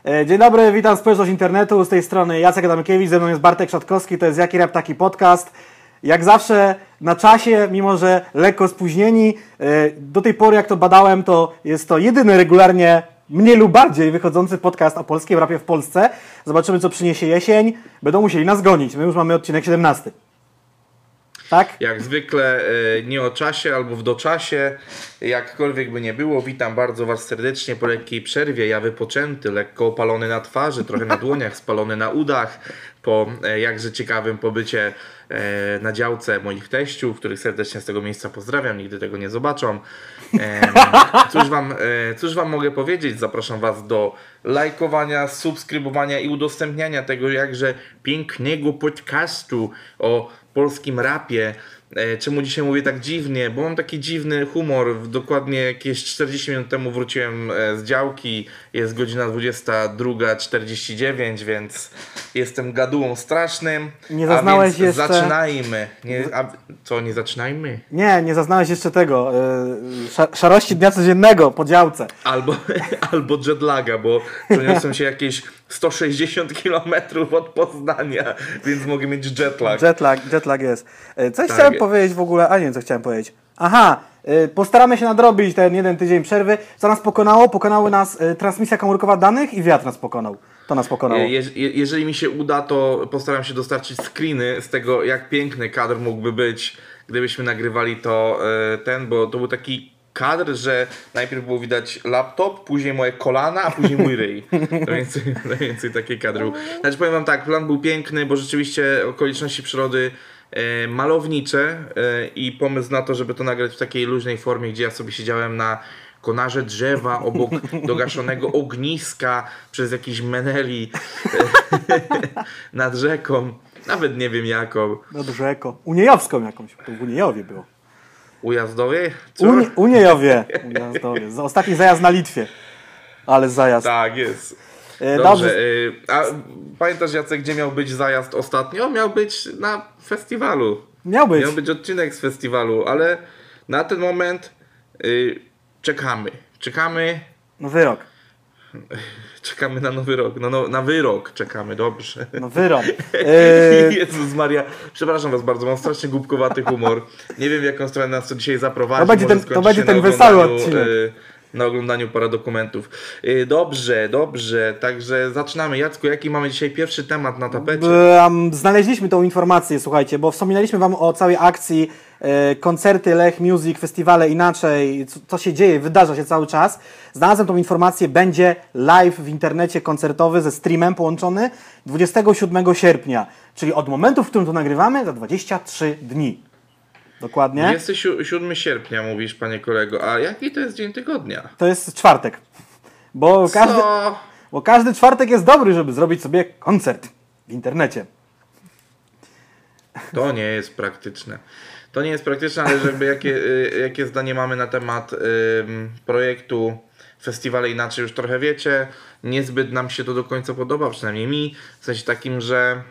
Dzień dobry, witam społeczność internetu, z tej strony Jacek Adamkiewicz, ze mną jest Bartek Szatkowski, to jest Jaki Rap Taki Podcast. Jak zawsze na czasie, mimo że lekko spóźnieni. Do tej pory jak to badałem, to jest to jedyny regularnie mniej lub bardziej wychodzący podcast o polskim rapie w Polsce. Zobaczymy, co przyniesie jesień. Będą musieli nas gonić, my już mamy odcinek 17. Tak? Jak zwykle nie o czasie albo w doczasie, jakkolwiek by nie było, witam bardzo Was serdecznie po lekkiej przerwie. Ja wypoczęty, lekko opalony na twarzy, trochę na dłoniach, spalony na udach, po jakże ciekawym pobycie na działce moich teściów, których serdecznie z tego miejsca pozdrawiam, nigdy tego nie zobaczą. Cóż wam mogę powiedzieć? Zapraszam Was do lajkowania, subskrybowania i udostępniania tego jakże pięknego podcastu o polskim rapie. Czemu dzisiaj mówię tak dziwnie? Bo mam taki dziwny humor. Dokładnie jakieś 40 minut temu wróciłem z działki. Jest godzina 22:49, więc jestem gadułą strasznym. Nie zaznałeś jeszcze... Zaczynajmy. Nie zaczynajmy? Nie zaznałeś jeszcze tego. Szarości dnia codziennego po działce. Albo jetlaga, bo przeniosłem się jakieś 160 km od Poznania, więc mogę mieć jetlag. Jetlag jest. Coś chciałem powiedzieć w ogóle, a nie wiem co chciałem powiedzieć. Postaramy się nadrobić ten jeden tydzień przerwy. Co nas pokonało? Pokonały nas transmisja komórkowa danych i wiatr nas pokonał. To nas pokonało. Jeżeli mi się uda, to postaram się dostarczyć screeny z tego, jak piękny kadr mógłby być, gdybyśmy nagrywali to bo to był taki kadr, że najpierw było widać laptop, później moje kolana, a później mój ryj. To więcej taki kadr był. Znaczy powiem wam tak, plan był piękny, bo rzeczywiście okoliczności przyrody malownicze i pomysł na to, żeby to nagrać w takiej luźnej formie, gdzie ja sobie siedziałem na konarze drzewa obok dogaszonego ogniska przez jakiś meneli nad rzeką. Nawet nie wiem jaką. Nad rzeką. Uniejowską jakąś. To w Uniejowie było. Ujazdowie? Uniejowie. Ostatni zajazd na Litwie. Ale zajazd. Tak, jest. Dobrze. A pamiętasz, Jacek, gdzie miał być zajazd ostatnio? Miał być na festiwalu. Miał być odcinek z festiwalu, ale na ten moment czekamy. Nowy rok. Czekamy na nowy rok. Na wyrok czekamy, dobrze. No wyrok. Jezus Maria. Przepraszam Was bardzo, mam strasznie głupkowaty humor. Nie wiem, w jaką stronę nas to dzisiaj zaprowadzi. To będzie ten wesoły odcinek. Na oglądaniu paradokumentów. Dobrze. Także zaczynamy. Jacku, jaki mamy dzisiaj pierwszy temat na tapecie? Znaleźliśmy tą informację, słuchajcie, bo wspominaliśmy Wam o całej akcji koncerty, Lech Music, festiwale inaczej, co się dzieje, wydarza się cały czas. Znalazłem tą informację, będzie live w internecie koncertowy ze streamem połączony 27 sierpnia, czyli od momentu, w którym to nagrywamy, za 23 dni. Dokładnie. 27 sierpnia mówisz, panie kolego, a jaki to jest dzień tygodnia? To jest czwartek. Bo każdy czwartek jest dobry, żeby zrobić sobie koncert w internecie. To nie jest praktyczne. Ale żeby jakie zdanie mamy na temat projektu Festiwale Inaczej już trochę wiecie. Niezbyt nam się to do końca podoba, przynajmniej mi. W sensie takim, że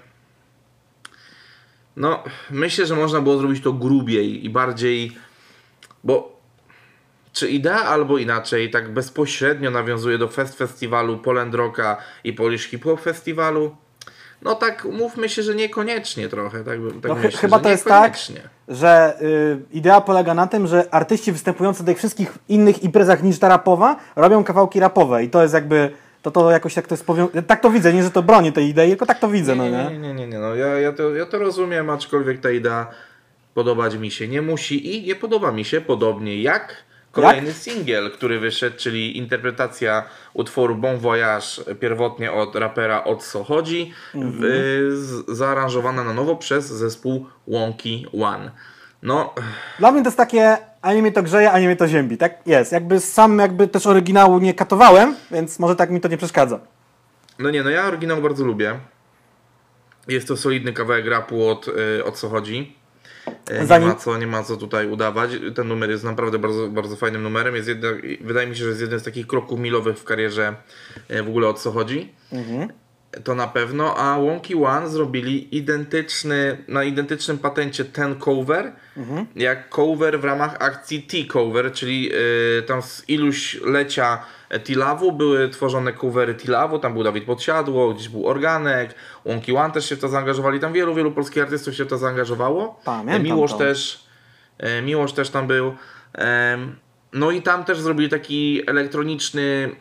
myślę, że można było zrobić to grubiej i bardziej, bo czy idea albo inaczej tak bezpośrednio nawiązuje do festiwalu Poland Rocka i Polish Hip Hop Festiwalu? No tak, umówmy się, że niekoniecznie trochę. Myślę, chyba to jest tak, że idea polega na tym, że artyści występujący na tych wszystkich innych imprezach niż ta rapowa robią kawałki rapowe i to jest jakby... To jakoś tak to jest tak to widzę, nie że to bronię tej idei, tylko tak to widzę. Nie. No, ja to rozumiem, aczkolwiek ta idea podobać mi się nie musi i nie podoba mi się, podobnie jak kolejny singiel, który wyszedł, czyli interpretacja utworu Bon Voyage pierwotnie od rapera O Co Chodzi, zaaranżowana na nowo przez zespół Wonky One. Dla mnie to jest takie, ani mnie to grzeje, ani mnie to ziębi, tak jest. Sam też oryginału nie katowałem, więc może tak mi to nie przeszkadza. Ja oryginał bardzo lubię. Jest to solidny kawałek rapu o co chodzi. Nie ma co tutaj udawać. Ten numer jest naprawdę bardzo, bardzo fajnym numerem. Wydaje mi się, że jest jeden z takich kroków milowych w karierze w ogóle O Co Chodzi. To na pewno, a Wonky One zrobili na identycznym patencie ten cover, jak cover w ramach akcji T-Cover, czyli tam z iluś lecia Tilawu, były tworzone covery Tilawu, tam był Dawid Podsiadło, gdzieś był Organek, Łąki One też się w to zaangażowali, tam wielu polskich artystów się w to zaangażowało. Pamiętam Miłosz też tam był. No i tam też zrobili taki elektroniczny,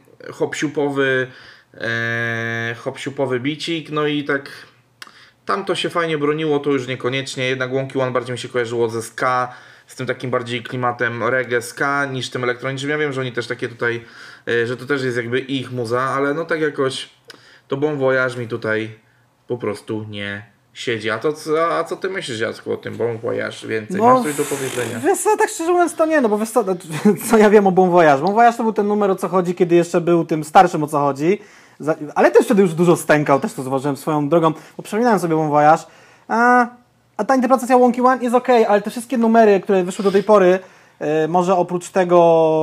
hop-siupowy bicik, no i tak tam to się fajnie broniło, to już niekoniecznie, jednak Łąki One bardziej mi się kojarzyło ze ska, z tym takim bardziej klimatem reggae, ska niż tym elektronicznym. Ja wiem, że oni też takie tutaj, że to też jest jakby ich muza, ale no tak jakoś to Bon Voyage mi tutaj po prostu nie siedzi. A co ty myślisz, Jacku, o tym Bon Voyage więcej? Masz coś do powiedzenia? Wiesz co, tak szczerze mówiąc to nie, no bo wiesz co ja wiem o Bon Voyage. Bon Voyage to był ten numer, o co chodzi, kiedy jeszcze był tym starszym, o co chodzi. Ale też wtedy już dużo stękał, też to zauważyłem swoją drogą, bo przypominałem sobie Bon Voyage. A ta interpretacja Łąki One jest okej, ale te wszystkie numery, które wyszły do tej pory, może oprócz tego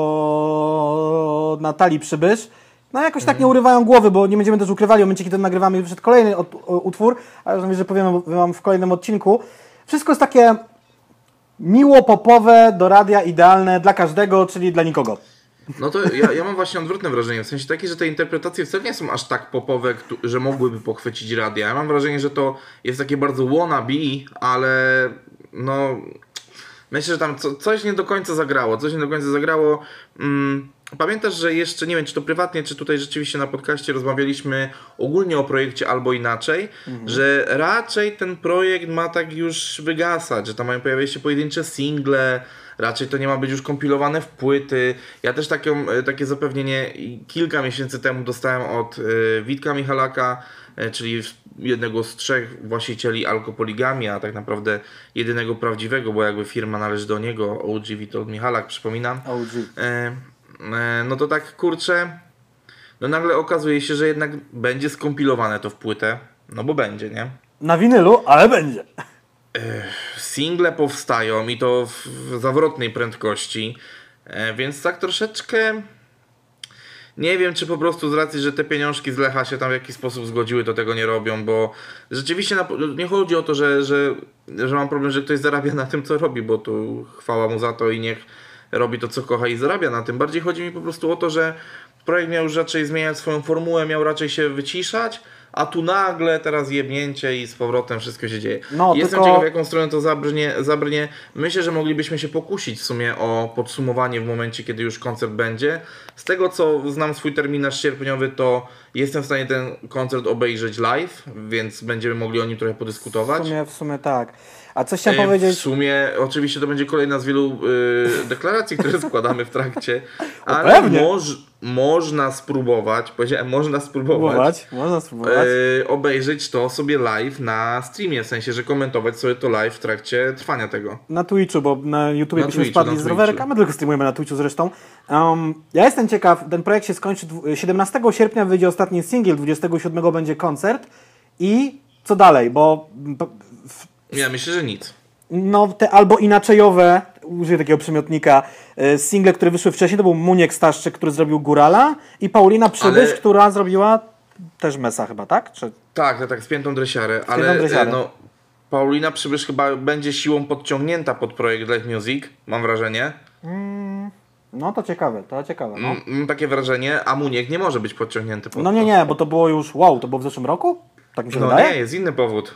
Natalii Przybysz, no jakoś tak nie urywają głowy, bo nie będziemy też ukrywali w momencie, kiedy nagrywamy już przed kolejny utwór, ale już że powiem wam w kolejnym odcinku. Wszystko jest takie miło popowe, do radia, idealne dla każdego, czyli dla nikogo. No to ja mam właśnie odwrotne wrażenie, w sensie takie, że te interpretacje wcale nie są aż tak popowe, że mogłyby pochwycić radia. Ja mam wrażenie, że to jest takie bardzo wannabe, ale no myślę, że tam coś nie do końca zagrało. Pamiętasz, że jeszcze, nie wiem czy to prywatnie, czy tutaj rzeczywiście na podcaście rozmawialiśmy ogólnie o projekcie Albo Inaczej, że raczej ten projekt ma tak już wygasać, że tam mają pojawiać się pojedyncze single, raczej to nie ma być już kompilowane w płyty. Ja też takie zapewnienie kilka miesięcy temu dostałem od Witka Michalaka, czyli jednego z 3 właścicieli Alkopoligami, a tak naprawdę jedynego prawdziwego, bo jakby firma należy do niego, OG Witold Michalak, przypominam. OG. No to tak kurczę, no nagle okazuje się, że jednak będzie skompilowane to w płytę, no bo będzie, nie? Na winylu, ale będzie. Single powstają i to w zawrotnej prędkości, więc tak troszeczkę nie wiem, czy po prostu z racji, że te pieniążki z Lecha się tam w jakiś sposób zgodziły, to tego nie robią, bo rzeczywiście nie chodzi o to, że mam problem, że ktoś zarabia na tym, co robi, bo tu chwała mu za to i niech robi to, co kocha i zarabia na tym. Bardziej chodzi mi po prostu o to, że projekt miał już raczej zmieniać swoją formułę, miał raczej się wyciszać, a tu nagle teraz jebnięcie i z powrotem wszystko się dzieje. Jestem ciekaw, w jaką stronę to zabrnie. Myślę, że moglibyśmy się pokusić w sumie o podsumowanie w momencie, kiedy już koncert będzie. Z tego, co znam swój terminarz sierpniowy, to jestem w stanie ten koncert obejrzeć live, więc będziemy mogli o nim trochę podyskutować. W sumie tak. A coś chciałem powiedzieć? W sumie oczywiście to będzie kolejna z wielu deklaracji, które składamy w trakcie, ale można spróbować, powiedziałem, można spróbować obejrzeć to sobie live na streamie, w sensie, że komentować sobie to live w trakcie trwania tego. Na Twitchu, bo na YouTubie byśmy spadli z rowerka, my tylko streamujemy na Twitchu zresztą. Ja jestem ciekaw, ten projekt się skończy 17 sierpnia, wyjdzie ostatni singiel, 27 będzie koncert i co dalej, bo... Ja myślę, że nic. No te albo inaczejowe, użyję takiego przymiotnika, single, które wyszły wcześniej, to był Muniek Staszczyk, który zrobił Górala i Paulina Przybysz, która zrobiła też Mesa chyba, tak? Tak, z Piętą Dresiarę, no Paulina Przybysz chyba będzie siłą podciągnięta pod projekt Live Music, mam wrażenie. No to ciekawe, no. Mam takie wrażenie, a Muniek nie może być podciągnięty pod No nie, bo to było już, to było w zeszłym roku? Tak mi się wydaje? Nie, jest inny powód.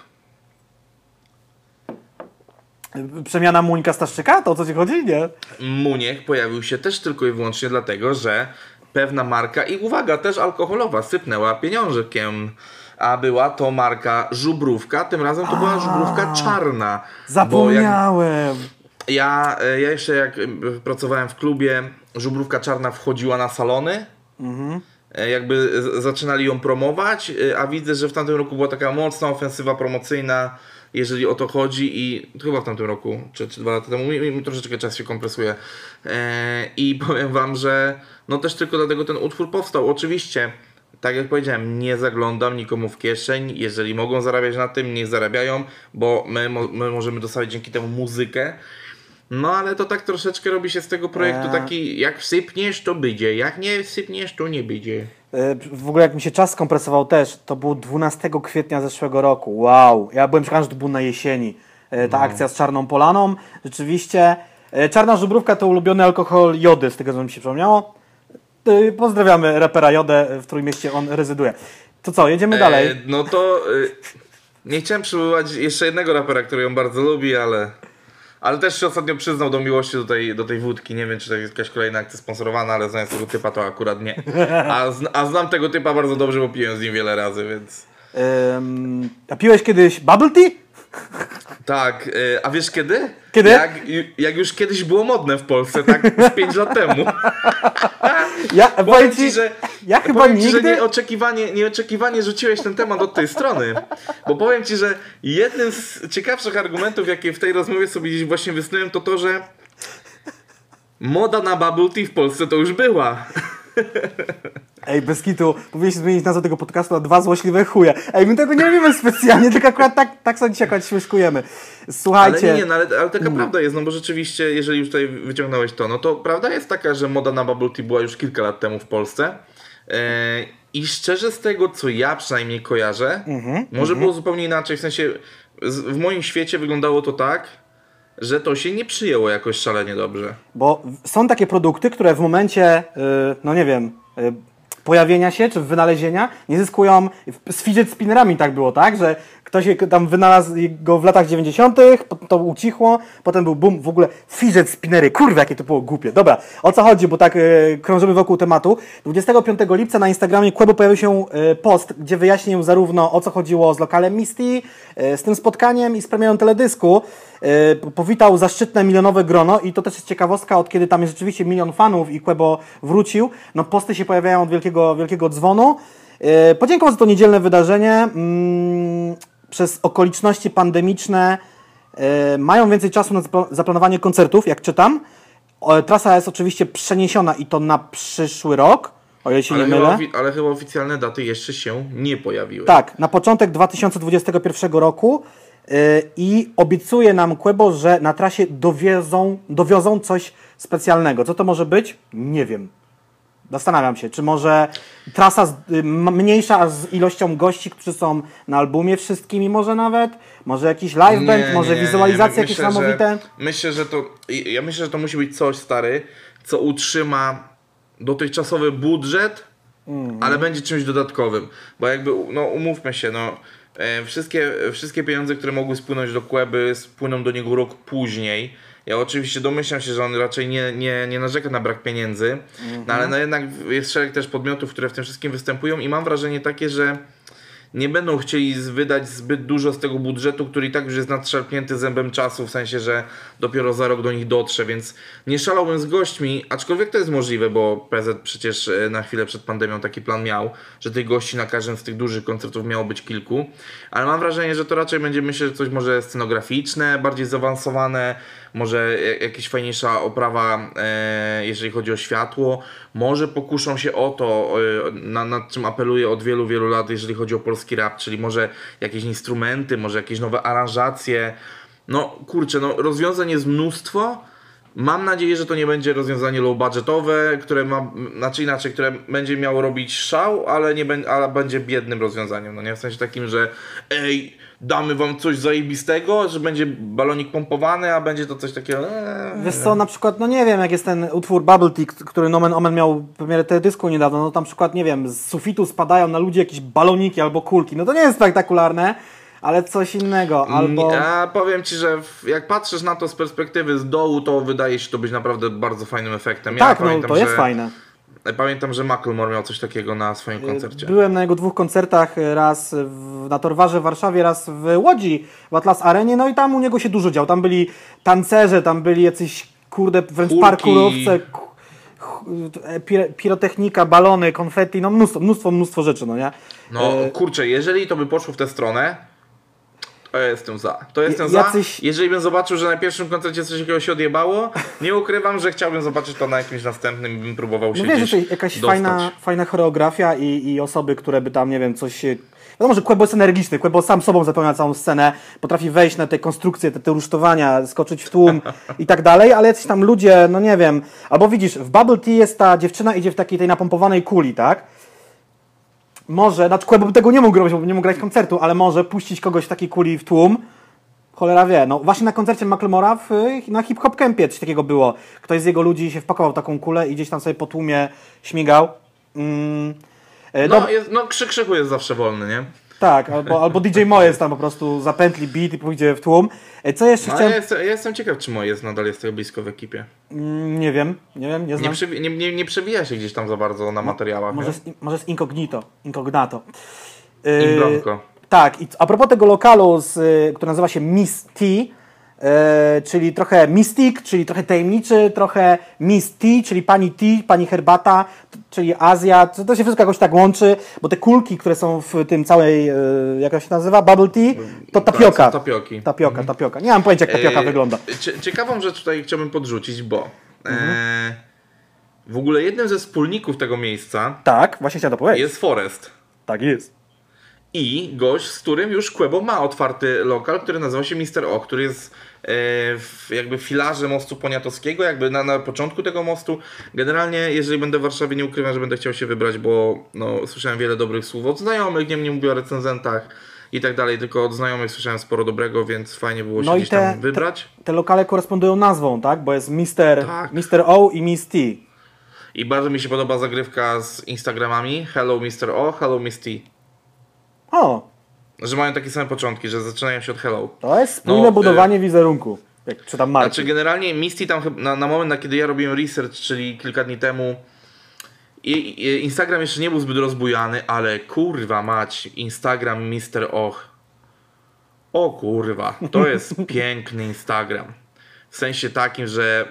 Przemiana Muńka Staszczyka? To o co ci chodzi? Nie. Muniek pojawił się też tylko i wyłącznie dlatego, że pewna marka i uwaga, też alkoholowa sypnęła pieniążkiem. A była to marka Żubrówka, tym razem to była Żubrówka czarna. Zapomniałem. Ja jeszcze jak pracowałem w klubie, Żubrówka czarna wchodziła na salony. Jakby zaczynali ją promować, a widzę, że w tamtym roku była taka mocna ofensywa promocyjna, jeżeli o to chodzi i chyba w tamtym roku, czy 2 lata temu, mi troszeczkę czas się kompresuje i powiem wam, że no też tylko dlatego ten utwór powstał. Oczywiście, tak jak powiedziałem, nie zaglądam nikomu w kieszeń, jeżeli mogą zarabiać na tym, niech zarabiają, bo my możemy dostawać dzięki temu muzykę. No ale to tak troszeczkę robi się z tego projektu taki, jak sypniesz to będzie, jak nie sypniesz to nie będzie. W ogóle jak mi się czas skompresował też, to było 12 kwietnia zeszłego roku. Wow, ja byłem przekonany, że to było na jesieni. Ta akcja z Czarną Polaną, rzeczywiście. Czarna Żubrówka to ulubiony alkohol jody, z tego co mi się przypomniało. Pozdrawiamy rapera Jodę, w Trójmieście on rezyduje. To co, jedziemy dalej? No to nie chciałem przywoływać jeszcze jednego rapera, który ją bardzo lubi, ale też się ostatnio przyznał do miłości do tej wódki. Nie wiem, czy to jest jakaś kolejna akcja sponsorowana, ale znając tego typa, to akurat nie. A znam tego typa bardzo dobrze, bo piłem z nim wiele razy, więc... A piłeś kiedyś bubble tea? Tak, a wiesz kiedy? Kiedy? Jak już kiedyś było modne w Polsce, tak z 5 lat temu. Powiem ci, że nieoczekiwanie rzuciłeś ten temat od tej strony. Bo powiem ci, że jednym z ciekawszych argumentów, jakie w tej rozmowie sobie gdzieś właśnie wysnułem, to to, że moda na bubble tea w Polsce to już była. Ej, bez kitu, powinniśmy zmienić nazwę tego podcastu na 2 złośliwe chuje. Ej, my tego nie robimy specjalnie, tylko akurat tak sobie dzisiaj akurat śmieszkujemy. Słuchajcie. Ale taka prawda jest, no bo rzeczywiście, jeżeli już tutaj wyciągnąłeś to, no to prawda jest taka, że moda na bubble tea była już kilka lat temu w Polsce. I szczerze z tego, co ja przynajmniej kojarzę, może było zupełnie inaczej, w sensie w moim świecie wyglądało to tak, że to się nie przyjęło jakoś szalenie dobrze. Bo są takie produkty, które w momencie, no nie wiem, pojawienia się czy wynalezienia nie zyskują. Z fidget spinnerami tak było, tak? Że ktoś tam wynalazł go w latach 90., to ucichło, potem był boom, w ogóle fidget spinnery, kurwa, jakie to było głupie. Dobra, o co chodzi, bo tak krążymy wokół tematu. 25 lipca na Instagramie Quebo pojawił się post, gdzie wyjaśnił zarówno o co chodziło z lokalem Misty, z tym spotkaniem i z premierą teledysku. Powitał zaszczytne milionowe grono i to też jest ciekawostka, od kiedy tam jest rzeczywiście 1 milion fanów i Quebo wrócił, no posty się pojawiają od wielkiego dzwonu. Podziękował za to niedzielne wydarzenie. Przez okoliczności pandemiczne mają więcej czasu na zaplanowanie koncertów, jak czytam. Trasa jest oczywiście przeniesiona i to na przyszły rok, o ile się nie mylę. Ale chyba oficjalne daty jeszcze się nie pojawiły. Tak, na początek 2021 roku i obiecuje nam Quebo, że na trasie dowiozą coś specjalnego. Co to może być? Nie wiem. Zastanawiam się, czy może trasa mniejsza z ilością gości, którzy są na albumie wszystkimi może nawet? Może jakiś live band, może wizualizacje jakieś niesamowite? Myślę, że to musi być coś, stary, co utrzyma dotychczasowy budżet, ale będzie czymś dodatkowym. Bo jakby, no umówmy się, no wszystkie pieniądze, które mogły spłynąć do Queby, spłyną do niego rok później. Ja oczywiście domyślam się, że on raczej nie narzeka na brak pieniędzy, no ale no jednak jest szereg też podmiotów, które w tym wszystkim występują i mam wrażenie takie, że nie będą chcieli wydać zbyt dużo z tego budżetu, który i tak już jest nadszarpnięty zębem czasu, w sensie, że dopiero za rok do nich dotrze, więc nie szalałbym z gośćmi, aczkolwiek to jest możliwe, bo PZ przecież na chwilę przed pandemią taki plan miał, że tych gości na każdym z tych dużych koncertów miało być kilku, ale mam wrażenie, że to raczej będzie, myślę, że coś może scenograficzne, bardziej zaawansowane, może jakaś fajniejsza oprawa, jeżeli chodzi o światło, może pokuszą się o to, nad czym apeluję od wielu, wielu lat, jeżeli chodzi o polski rap, czyli może jakieś instrumenty, może jakieś nowe aranżacje. No kurczę, no rozwiązań jest mnóstwo. Mam nadzieję, że to nie będzie rozwiązanie low budgetowe, które które będzie miało robić szał, ale będzie biednym rozwiązaniem. No nie w sensie takim, że damy wam coś zajebistego, że będzie balonik pompowany, a będzie to coś takiego... Wiesz co, na przykład, no nie wiem, jak jest ten utwór Bubble Tea, który Nomen Omen miał premierę teledysku niedawno, no tam na przykład, nie wiem, z sufitu spadają na ludzi jakieś baloniki albo kulki, no to nie jest spektakularne, ale coś innego, albo... Ja powiem ci, że jak patrzysz na to z perspektywy z dołu, to wydaje się to być naprawdę bardzo fajnym efektem. Ja pamiętam, to jest fajne. Pamiętam, że Macklemore miał coś takiego na swoim koncercie. Byłem na jego 2 koncertach, raz na Torwarze w Warszawie, raz w Łodzi, w Atlas Arenie, no i tam u niego się dużo działo. Tam byli tancerze, tam byli jacyś, kurde, wręcz parkurowce, pirotechnika, balony, konfetti, no mnóstwo rzeczy, no nie? No kurczę, jeżeli to by poszło w tę stronę, to jestem za. Jeżeli bym zobaczył, że na pierwszym koncercie coś takiego się odjebało, nie ukrywam, że chciałbym zobaczyć to na jakimś następnym i bym próbował się gdzieś dostać. Jakaś fajna choreografia i osoby, które by tam, nie wiem, coś... Wiadomo, że Quebo jest energiczny, Quebo sam sobą zapełnia całą scenę, potrafi wejść na te konstrukcje, te rusztowania, skoczyć w tłum i tak dalej, ale jacyś tam ludzie, no nie wiem, albo widzisz, w Bubble Tea jest ta dziewczyna, idzie w takiej tej napompowanej kuli, tak? Może, znaczy Quebo by tego nie mógł robić, bo nie mógł grać koncertu, ale może puścić kogoś w takiej kuli w tłum, Cholera wie. No właśnie na koncercie Macklemora na Hip Hop Campie coś takiego było. Ktoś z jego ludzi się wpakował w taką kulę i gdzieś tam sobie po tłumie śmigał. Krzychu jest zawsze wolny, nie? Tak, albo DJ Moje tam po prostu zapętli beat i pójdzie w tłum. Co jeszcze chciałem... Ja jestem ciekaw, czy Moje nadal jest tak blisko w ekipie. Nie wiem, nie znam. Nie przewija się gdzieś tam za bardzo na materiałach. Może jest Incognato. Imbranco. Tak, i a propos tego lokalu, który nazywa się Miss T, czyli trochę Mystic, czyli trochę tajemniczy, trochę Miss T, czyli pani T, pani herbata, czyli Azja, to się wszystko jakoś tak łączy, bo te kulki, które są w tym całej, jak to się nazywa, bubble tea, to tapioka. Tapioka. Nie mam pojęcia, jak tapioka wygląda. Ciekawą rzecz tutaj chciałbym podrzucić, bo w ogóle jednym ze wspólników tego miejsca tak, właśnie chciałem to powiedzieć. Jest Forest. Tak jest. I gość, z którym już Quebo ma otwarty lokal, który nazywa się Mr. O, który jest jakby w filarze mostu poniatowskiego, jakby na początku tego mostu. Generalnie, jeżeli będę w Warszawie, nie ukrywam, że będę chciał się wybrać, bo słyszałem wiele dobrych słów od znajomych, nie mówię o recenzentach i tak dalej, tylko od znajomych słyszałem sporo dobrego, więc fajnie było się gdzieś tam wybrać. Te lokale korespondują nazwą, tak? Bo jest Mr. O i Miss T. I bardzo mi się podoba zagrywka z Instagramami. Hello Mr. O, hello Miss T. O! Że mają takie same początki, że zaczynają się od hello. To jest spójne budowanie wizerunku. Jak czytam marki. Znaczy generalnie Misty tam na moment, kiedy ja robiłem research, czyli kilka dni temu, Instagram jeszcze nie był zbyt rozbujany, ale kurwa mać, Instagram Mr. Och. O kurwa, to jest piękny Instagram. W sensie takim, że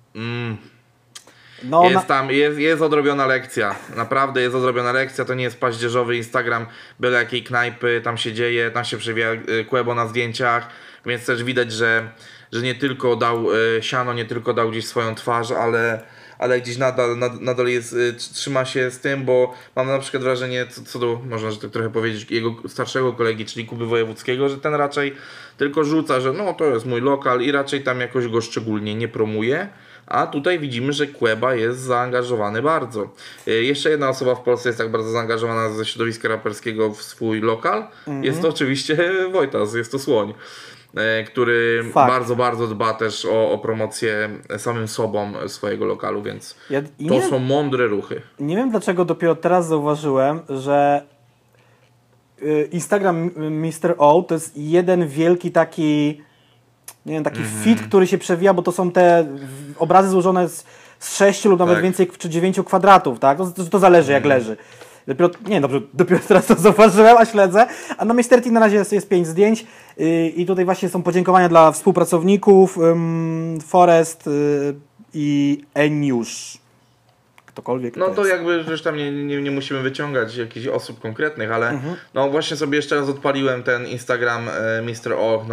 jest odrobiona lekcja. Naprawdę jest odrobiona lekcja. To nie jest paździerzowy Instagram byle jakiej knajpy, tam się dzieje, tam się przewija Quebo na zdjęciach, więc też widać, że nie tylko dał siano, nie tylko dał gdzieś swoją twarz, ale gdzieś nadal jest, trzyma się z tym, bo mam na przykład wrażenie, co do, można że tak trochę powiedzieć, jego starszego kolegi, czyli Kuby Wojewódzkiego, że ten raczej tylko rzuca, że to jest mój lokal i raczej tam jakoś go szczególnie nie promuje. A tutaj widzimy, że Queba jest zaangażowany bardzo. Jeszcze jedna osoba w Polsce jest tak bardzo zaangażowana ze środowiska raperskiego w swój lokal. Jest to oczywiście Wojtas, jest to Słoń, który bardzo, bardzo dba też o promocję samym sobą swojego lokalu, więc są mądre ruchy. Nie wiem dlaczego dopiero teraz zauważyłem, że Instagram Mr. O to jest jeden wielki taki... Nie wiem, taki fit, który się przewija, bo to są te obrazy złożone z 6 lub nawet więcej czy 9 kwadratów, tak? To zależy jak leży. Dopiero teraz to zauważyłem, a śledzę. A na Mr. T na razie jest 5 zdjęć i tutaj właśnie są podziękowania dla współpracowników Forest i Eniusz. Ktokolwiek to jakby już tam nie musimy wyciągać jakichś osób konkretnych, ale właśnie sobie jeszcze raz odpaliłem ten Instagram Mr. Och,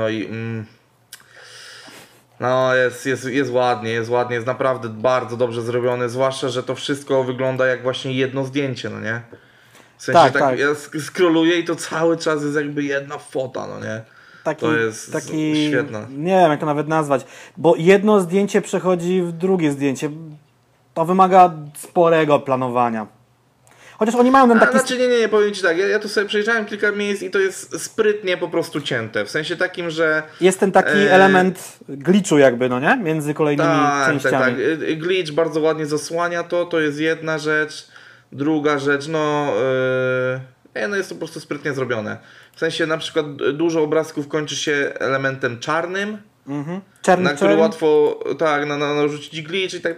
jest ładnie, jest naprawdę bardzo dobrze zrobione, zwłaszcza, że to wszystko wygląda jak właśnie jedno zdjęcie, nie? W sensie tak. Ja scrolluję i to cały czas jest jakby jedna fota, nie? To jest świetne. Nie wiem, jak to nawet nazwać, bo jedno zdjęcie przechodzi w drugie zdjęcie. To wymaga sporego planowania. Chociaż oni mają ten taki... Znaczy nie, powiem Ci tak, ja tu sobie przejrzałem kilka miejsc i to jest sprytnie po prostu cięte, w sensie takim, że... Jest ten taki element glitchu jakby, nie? Między kolejnymi częściami. Tak, glitch bardzo ładnie zasłania to jest jedna rzecz, druga rzecz, jest to po prostu sprytnie zrobione. W sensie na przykład dużo obrazków kończy się elementem czarnym, na który łatwo narzucić glitch i tak,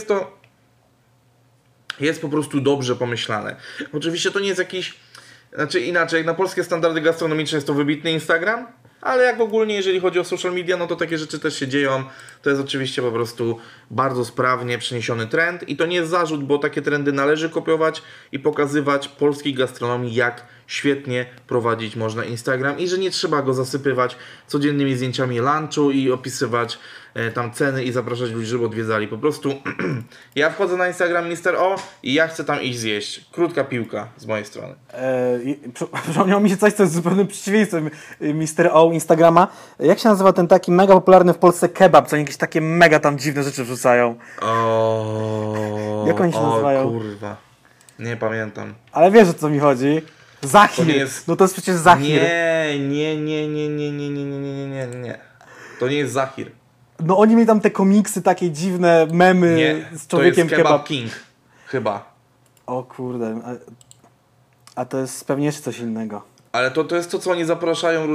jest po prostu dobrze pomyślane. Oczywiście to nie jest jakiś... Znaczy inaczej, jak na polskie standardy gastronomiczne jest to wybitny Instagram, ale jak ogólnie jeżeli chodzi o social media, to takie rzeczy też się dzieją. To jest oczywiście po prostu bardzo sprawnie przeniesiony trend i to nie jest zarzut, bo takie trendy należy kopiować i pokazywać polskiej gastronomii, jak świetnie prowadzić można Instagram i że nie trzeba go zasypywać codziennymi zdjęciami lunchu i opisywać tam ceny i zapraszać ludzi, żeby odwiedzali. Po prostu ja wchodzę na Instagram Mr. O i ja chcę tam iść zjeść. Krótka piłka z mojej strony. Przypomniało mi się coś, co jest zupełnym przeciwieństwem Mr. O Instagrama. Jak się nazywa ten taki mega popularny w Polsce kebab, co jakieś takie mega tam dziwne rzeczy wrzucają? Jak oni się nazywają? Kurwa. Nie pamiętam. Ale wiesz, o co mi chodzi? Zahir. To jest przecież Zahir. Nie. To nie jest Zahir. No oni mieli tam te komiksy, takie dziwne memy Nie, z człowiekiem to jest Kebab King. Chyba. O kurde. A to jest pewnie jeszcze coś innego. Ale to jest to, co oni zapraszają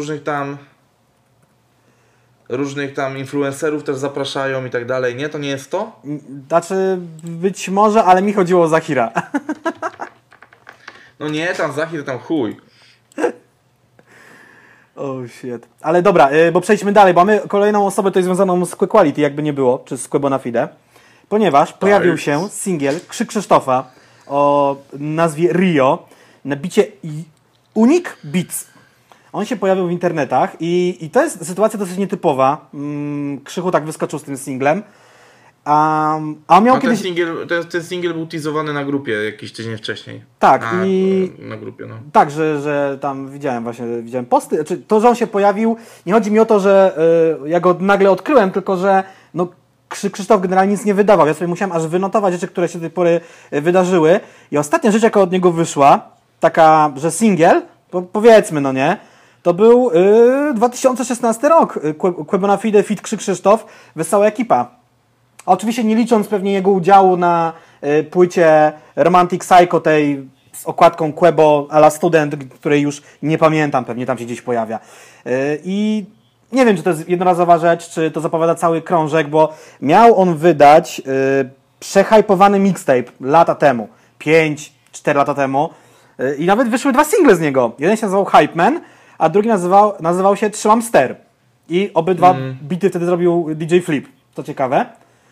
różnych tam influencerów też zapraszają i tak dalej. Nie? To nie jest to? Znaczy, być może, ale mi chodziło o Zahira. No nie, tam Zahir, tam chuj. Oh shit. Ale dobra, bo przejdźmy dalej, bo mamy kolejną osobę tutaj związaną z Quality, jakby nie było, czy z Quebonafide. Ponieważ pojawił się singiel Krzyk Krzysztofa o nazwie Rio na bicie Unique Beats. On się pojawił w internetach i to jest sytuacja dosyć nietypowa. Krzychu tak wyskoczył z tym singlem. A on miał kiedyś... ten singiel był teasowany na grupie jakiś tydzień wcześniej. Tak. Na grupie, no. Tak, że tam widziałem posty. Znaczy, to, że on się pojawił, nie chodzi mi o to, że ja go nagle odkryłem, tylko że no, Krzysztof generalnie nic nie wydawał. Ja sobie musiałem aż wynotować rzeczy, które się do tej pory wydarzyły. I ostatnia rzecz, jaka od niego wyszła, taka, że singiel, powiedzmy, no nie, to był 2016 rok. Quebonafide feat. Krzysztof, Wesoła Ekipa. Oczywiście nie licząc pewnie jego udziału na płycie Romantic Psycho, tej z okładką Quebo a la Student, której już nie pamiętam, pewnie tam się gdzieś pojawia. I nie wiem, czy to jest jednorazowa rzecz, czy to zapowiada cały krążek, bo miał on wydać przehypowany mixtape lata temu, 5-4 lata temu i nawet wyszły 2 single z niego. Jeden się nazywał Hype Man, a drugi nazywał się Trzymam Ster. I obydwa bity wtedy zrobił DJ Flip. To ciekawe.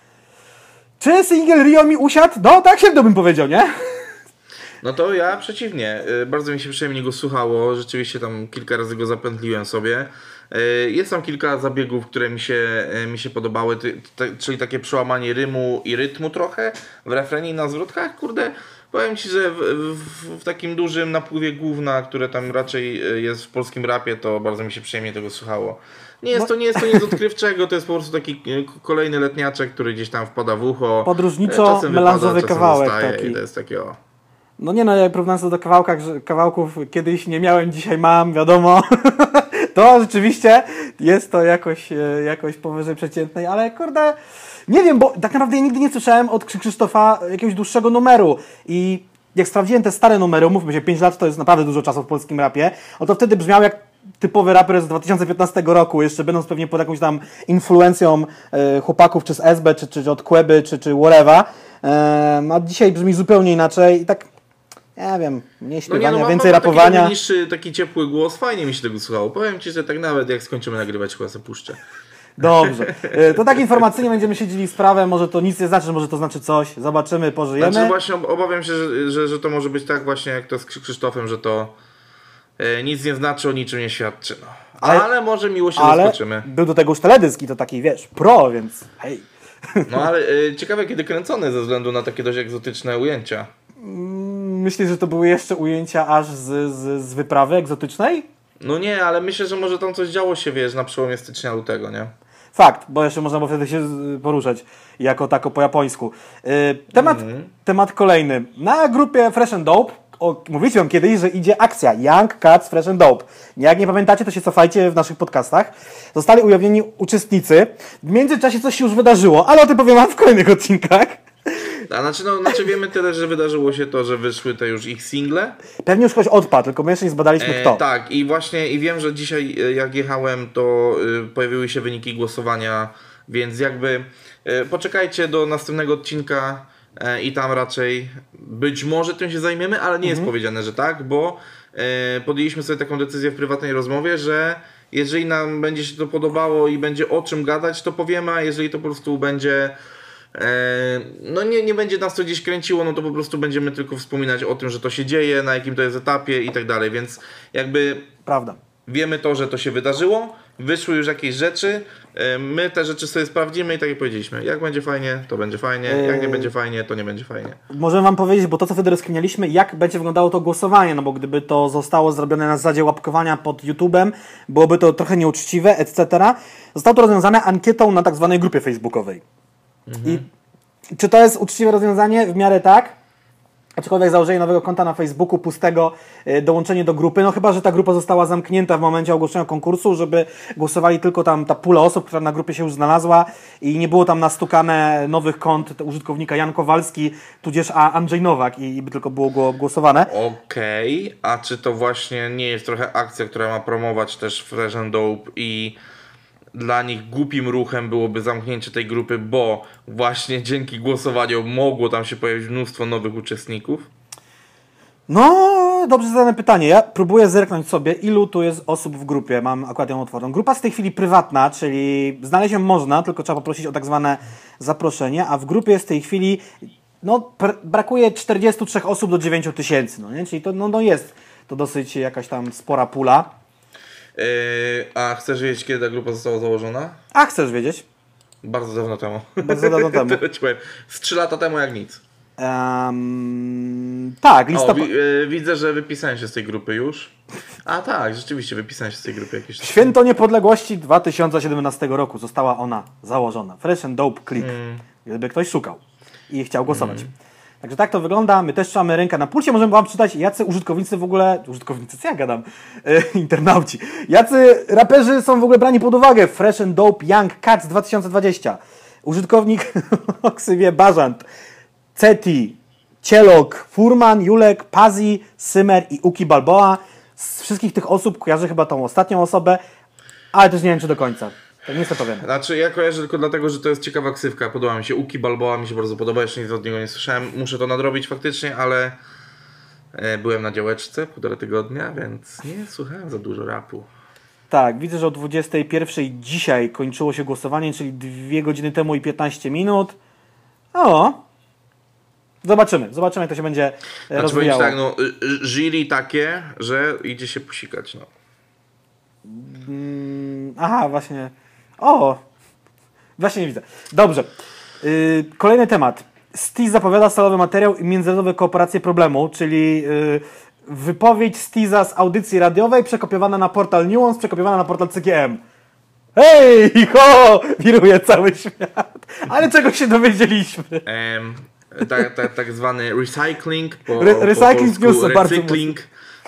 Czy single Rio mi usiadł? No tak średnio bym powiedział, nie? No to ja przeciwnie. Bardzo mi się przyjemnie go słuchało. Rzeczywiście tam kilka razy go zapętliłem sobie. Jest tam kilka zabiegów, które mi się podobały, czyli takie przełamanie rymu i rytmu trochę w refrenie i na zwrotkach. Kurde, powiem Ci, że w takim dużym napływie gówna, które tam raczej jest w polskim rapie, to bardzo mi się przyjemnie tego słuchało. Nie jest to nic odkrywczego, to jest po prostu taki kolejny letniaczek, który gdzieś tam wpada w ucho. Podróżniczo melanżowy kawałek taki. I to jest takie o. No nie no, ja porównując to do kawałków kiedyś nie miałem, dzisiaj mam, wiadomo. To rzeczywiście jest to jakoś powyżej przeciętnej, ale kurde, nie wiem, bo tak naprawdę ja nigdy nie słyszałem od Krzysztofa jakiegoś dłuższego numeru i jak sprawdziłem te stare numery, umówmy się, 5 lat to jest naprawdę dużo czasu w polskim rapie, to wtedy brzmiał jak typowy raper z 2015 roku, jeszcze będąc pewnie pod jakąś tam influencją chłopaków, czy z SB, czy od Queby, czy whatever, a dzisiaj brzmi zupełnie inaczej i tak, nie wiem, mniej śpiewania, więcej rapowania. Taki niższy, taki ciepły głos, fajnie mi się tego słuchało. Powiem Ci, że tak nawet jak skończymy nagrywać, chyba sobie puszczę. Dobrze. To tak informacyjnie będziemy śledzili sprawę, może to nic nie znaczy, może to znaczy coś. Zobaczymy, pożyjemy. Znaczy właśnie obawiam się, że to może być tak właśnie jak to z Krzysztofem, że to nic nie znaczy, o niczym nie świadczy. No. Ale może miło się zaskoczymy. Był do tego już teledysk i to taki, wiesz, pro, więc hej. No ale ciekawe kiedy kręcony ze względu na takie dość egzotyczne ujęcia. Myślisz, że to były jeszcze ujęcia aż z wyprawy egzotycznej? No nie, ale myślę, że może tam coś działo się, wiesz, na przełomie stycznia, lutego, nie? Fakt, bo jeszcze można było wtedy się poruszać jako tako po japońsku. Temat kolejny. Na grupie Fresh and Dope, mówiliśmy wam kiedyś, że idzie akcja Young Cats Fresh and Dope. Jak nie pamiętacie, to się cofajcie w naszych podcastach. Zostali ujawnieni uczestnicy. W międzyczasie coś się już wydarzyło, ale o tym powiem wam w kolejnych odcinkach. Znaczy wiemy tyle, że wydarzyło się to, że wyszły te już ich single. Pewnie już ktoś odpadł, tylko my jeszcze nie zbadaliśmy kto. Tak, i właśnie i wiem, że dzisiaj jak jechałem, to pojawiły się wyniki głosowania, więc jakby poczekajcie do następnego odcinka i tam raczej być może tym się zajmiemy, ale nie jest powiedziane, że tak, bo podjęliśmy sobie taką decyzję w prywatnej rozmowie, że jeżeli nam będzie się to podobało i będzie o czym gadać, to powiemy, a jeżeli to po prostu będzie no nie będzie nas to gdzieś kręciło, no to po prostu będziemy tylko wspominać o tym, że to się dzieje, na jakim to jest etapie i tak dalej, więc jakby prawda. Wiemy to, że to się wydarzyło, wyszły już jakieś rzeczy, my te rzeczy sobie sprawdzimy i tak jak powiedzieliśmy, jak będzie fajnie, to będzie fajnie, jak nie będzie fajnie, to nie będzie fajnie. Możemy wam powiedzieć, bo to co wtedy rozkminialiśmy, jak będzie wyglądało to głosowanie, no bo gdyby to zostało zrobione na zasadzie łapkowania pod YouTube'em, byłoby to trochę nieuczciwe, etc. Zostało to rozwiązane ankietą na tak zwanej grupie facebookowej. I czy to jest uczciwe rozwiązanie? W miarę tak. Aczkolwiek założenie nowego konta na Facebooku, pustego, dołączenie do grupy, no chyba, że ta grupa została zamknięta w momencie ogłoszenia konkursu, żeby głosowali tylko tam ta pula osób, która na grupie się już znalazła i nie było tam nastukane nowych kont użytkownika Jan Kowalski, tudzież Andrzej Nowak i by tylko było głosowane. Okej, a czy to właśnie nie jest trochę akcja, która ma promować też Fresh and Dope i dla nich głupim ruchem byłoby zamknięcie tej grupy, bo właśnie dzięki głosowaniu mogło tam się pojawić mnóstwo nowych uczestników? No, dobrze zadane pytanie. Ja próbuję zerknąć sobie, ilu tu jest osób w grupie. Mam akurat ją otwartą. Grupa jest w tej chwili prywatna, czyli znaleźć ją można, tylko trzeba poprosić o tak zwane zaproszenie, a w grupie jest w tej chwili, no, brakuje 43 osób do 9 tysięcy, no nie? Czyli to no jest to dosyć jakaś tam spora pula. A chcesz wiedzieć, kiedy ta grupa została założona? A chcesz wiedzieć? Bardzo dawno temu. Bardzo dawno temu. To ci powiem. Z 3 lata temu jak nic. Tak, listopad. Widzę, że wypisałem się z tej grupy już. A tak, rzeczywiście wypisałem się z tej grupy jakieś. Święto Niepodległości 2017 roku została ona założona. Fresh and Dope Click. Gdyby ktoś szukał i chciał głosować. Także tak to wygląda. My też trzymamy rękę na pulsie. Możemy wam czytać, jacy użytkownicy w ogóle... Użytkownicy, co ja gadam? Internauci. Jacy raperzy są w ogóle brani pod uwagę? Fresh and Dope Young Cats 2020. Użytkownik o ksywie Bażant. Ceti, Cielok, Furman, Julek, Pazi, Symer i Uki Balboa. Z wszystkich tych osób kojarzę chyba tą ostatnią osobę, ale też nie wiem, czy do końca. To nie jestem pewien. Znaczy ja kojarzę tylko dlatego, że to jest ciekawa ksywka. Podoba mi się. Uki Balboa mi się bardzo podoba. Jeszcze nic od niego nie słyszałem. Muszę to nadrobić faktycznie, ale byłem na działeczce 1,5 tygodnia, więc nie słuchałem za dużo rapu. Tak, widzę, że o 21:00 dzisiaj kończyło się głosowanie, czyli 2 godziny temu i 15 minut. O! Zobaczymy, jak to się będzie rozwijało. Tak, no, jury takie, że idzie się posikać, no. Aha, właśnie. O! Właśnie nie widzę. Dobrze. Kolejny temat. Stiz zapowiada solowy materiał i międzynarodowe kooperacje problemu, czyli wypowiedź Stiza z audycji radiowej przekopiowana na portal Nuance, przekopiowana na portal CGM. Hej, ho! Wiruje cały świat. Ale czego się dowiedzieliśmy? Tak zwany recycling, recycling news, recykling.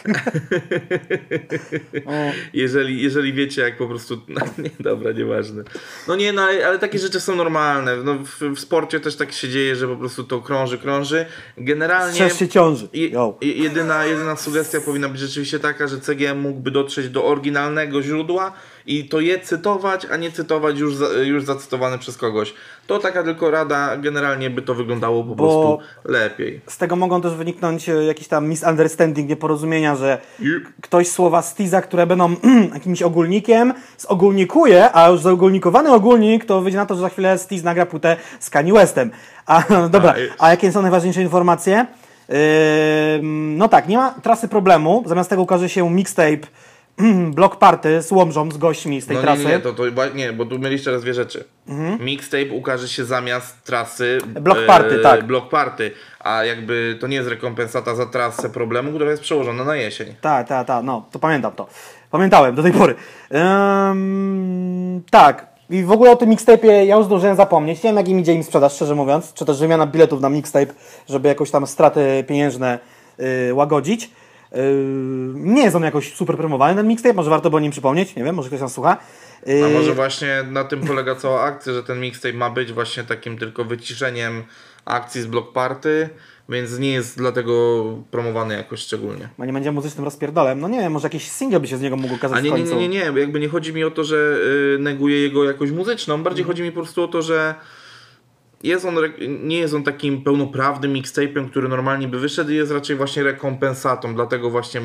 jeżeli wiecie, jak po prostu... No, nie, dobra, nieważne. No nie, no ale takie rzeczy są normalne. No, w sporcie też tak się dzieje, że po prostu to krąży. Generalnie... Strzeż się ciąży. Jedyna sugestia powinna być rzeczywiście taka, że CGM mógłby dotrzeć do oryginalnego źródła i to je cytować, a nie cytować już zacytowane przez kogoś. To taka tylko rada, generalnie by to wyglądało po prostu lepiej. Z tego mogą też wyniknąć jakiś tam misunderstanding, nieporozumienia, że ktoś słowa Stiza, które będą jakimś ogólnikiem, zogólnikuje, a już zaogólnikowany ogólnik, to wyjdzie na to, że za chwilę Stiz nagra płytę z Kanye Westem. Dobra, a jakie są najważniejsze informacje? No tak, nie ma trasy problemu, zamiast tego ukaże się mixtape Block Party z Łomżą, z gośćmi z tej trasy. Nie, bo tu mieliście teraz dwie rzeczy. Mixtape ukaże się zamiast trasy Block Party, tak. Block Party, a jakby to nie jest rekompensata za trasę problemu, która jest przełożona na jesień. Tak, no, to pamiętam to. Pamiętałem do tej pory. Tak, i w ogóle o tym mixtape'ie ja już zdążyłem zapomnieć. Nie wiem, jak im idzie im sprzedaż, szczerze mówiąc, czy też wymiana biletów na mixtape, żeby jakoś tam straty pieniężne łagodzić. Nie jest on jakoś super promowany, ten mixtape, może warto by o nim przypomnieć, nie wiem, może ktoś nas słucha. A może właśnie na tym polega cała akcja, że ten mixtape ma być właśnie takim tylko wyciszeniem akcji z Block Party, więc nie jest dlatego promowany jakoś szczególnie. Bo nie będzie muzycznym rozpierdolem, no nie wiem, może jakiś single by się z niego mógł ukazać w końcu. Nie, jakby nie chodzi mi o to, że neguje jego jakość muzyczną, bardziej chodzi mi po prostu o to, że nie jest on takim pełnoprawnym mixtape'em, który normalnie by wyszedł, i jest raczej właśnie rekompensatą, dlatego właśnie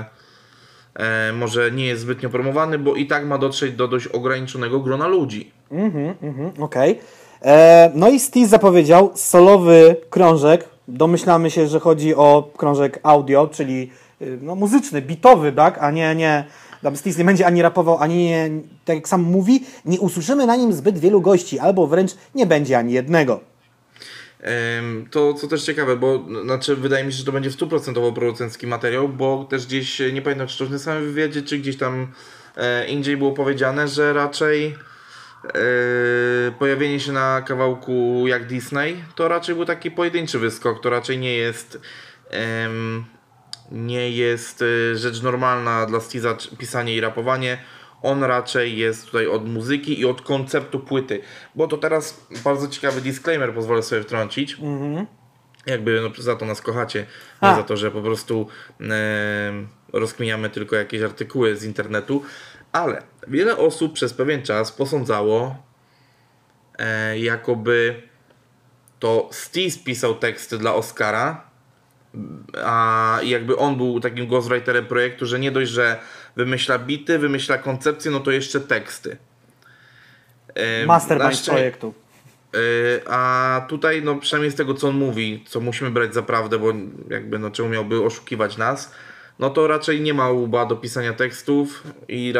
może nie jest zbytnio promowany, bo i tak ma dotrzeć do dość ograniczonego grona ludzi. Okej. No i Stiz zapowiedział solowy krążek. Domyślamy się, że chodzi o krążek audio, czyli no, muzyczny, beatowy, tak? A nie tam Stiz nie będzie ani rapował, ani nie, tak jak sam mówi, nie usłyszymy na nim zbyt wielu gości, albo wręcz nie będzie ani jednego. To co też ciekawe, bo znaczy wydaje mi się, że to będzie w 100% producencki materiał, bo też gdzieś, nie pamiętam czy to w tym samym wywiadzie, czy gdzieś tam indziej było powiedziane, że raczej pojawienie się na kawałku jak Disney to raczej był taki pojedynczy wyskok, to raczej nie jest nie jest rzecz normalna dla Steeza pisanie i rapowanie. On raczej jest tutaj od muzyki i od konceptu płyty. Bo to teraz bardzo ciekawy disclaimer pozwolę sobie wtrącić. Jakby no, za to nas kochacie, nie za to, że po prostu rozkminiamy tylko jakieś artykuły z internetu. Ale wiele osób przez pewien czas posądzało, jakoby to Steez pisał teksty dla Oscara, a jakby on był takim ghostwriterem projektu, że nie dość, że wymyśla bity, wymyśla koncepcje, no to jeszcze teksty. Mastermind projektu. A tutaj, no przynajmniej z tego co on mówi, co musimy brać za prawdę, bo jakby no czemu miałby oszukiwać nas, no to raczej nie ma łba do pisania tekstów i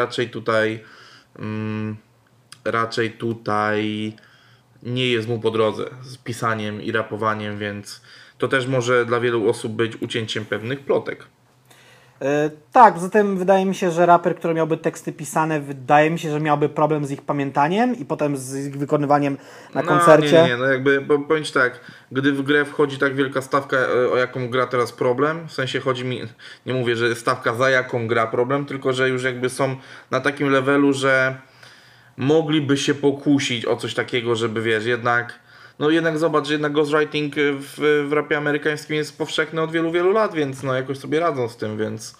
raczej tutaj nie jest mu po drodze z pisaniem i rapowaniem, więc to też może dla wielu osób być ucięciem pewnych plotek. Tak, zatem wydaje mi się, że raper, który miałby teksty pisane, wydaje mi się, że miałby problem z ich pamiętaniem i potem z ich wykonywaniem na koncercie. Nie, no jakby powiem ci tak, gdy w grę wchodzi tak wielka stawka, o jaką gra teraz problem, w sensie chodzi mi, nie mówię, że stawka za jaką gra problem, tylko że już jakby są na takim levelu, że mogliby się pokusić o coś takiego, żeby wiesz, jednak zobacz, że jednak ghostwriting w rapie amerykańskim jest powszechny od wielu, wielu lat, więc no jakoś sobie radzą z tym, więc...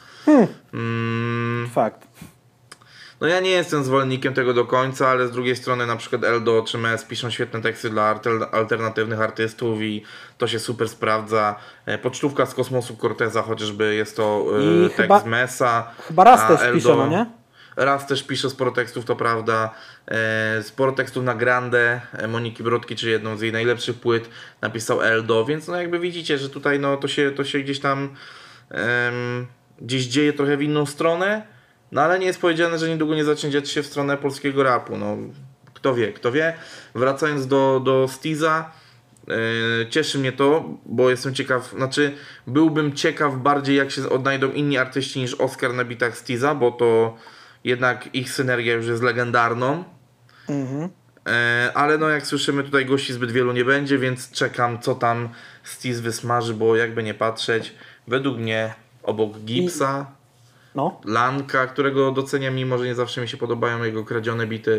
Fakt. No ja nie jestem zwolennikiem tego do końca, ale z drugiej strony na przykład Eldo czy Mes piszą świetne teksty dla alternatywnych artystów i to się super sprawdza. Pocztówka z kosmosu Corteza chociażby jest to tekst Mesa. Chyba raz też pisze, no nie? Raz też pisze sporo tekstów, to prawda. Sporo tekstów na Grande Moniki Brodki, czyli jedną z jej najlepszych płyt, napisał Eldo, więc no jakby widzicie, że tutaj no to się gdzieś tam gdzieś dzieje trochę w inną stronę, no ale nie jest powiedziane, że niedługo nie zacznie dziać się w stronę polskiego rapu. No kto wie. Wracając do Steeza, cieszy mnie to, bo jestem ciekaw, byłbym ciekaw bardziej, jak się odnajdą inni artyści niż Oscar na bitach Steeza, bo to jednak ich synergia już jest legendarną. Ale no jak słyszymy, tutaj gości zbyt wielu nie będzie, więc czekam, co tam Steez wysmaży, bo jakby nie patrzeć, według mnie obok Gipsa, Lanka, którego doceniam, mimo że nie zawsze mi się podobają jego kradzione bity,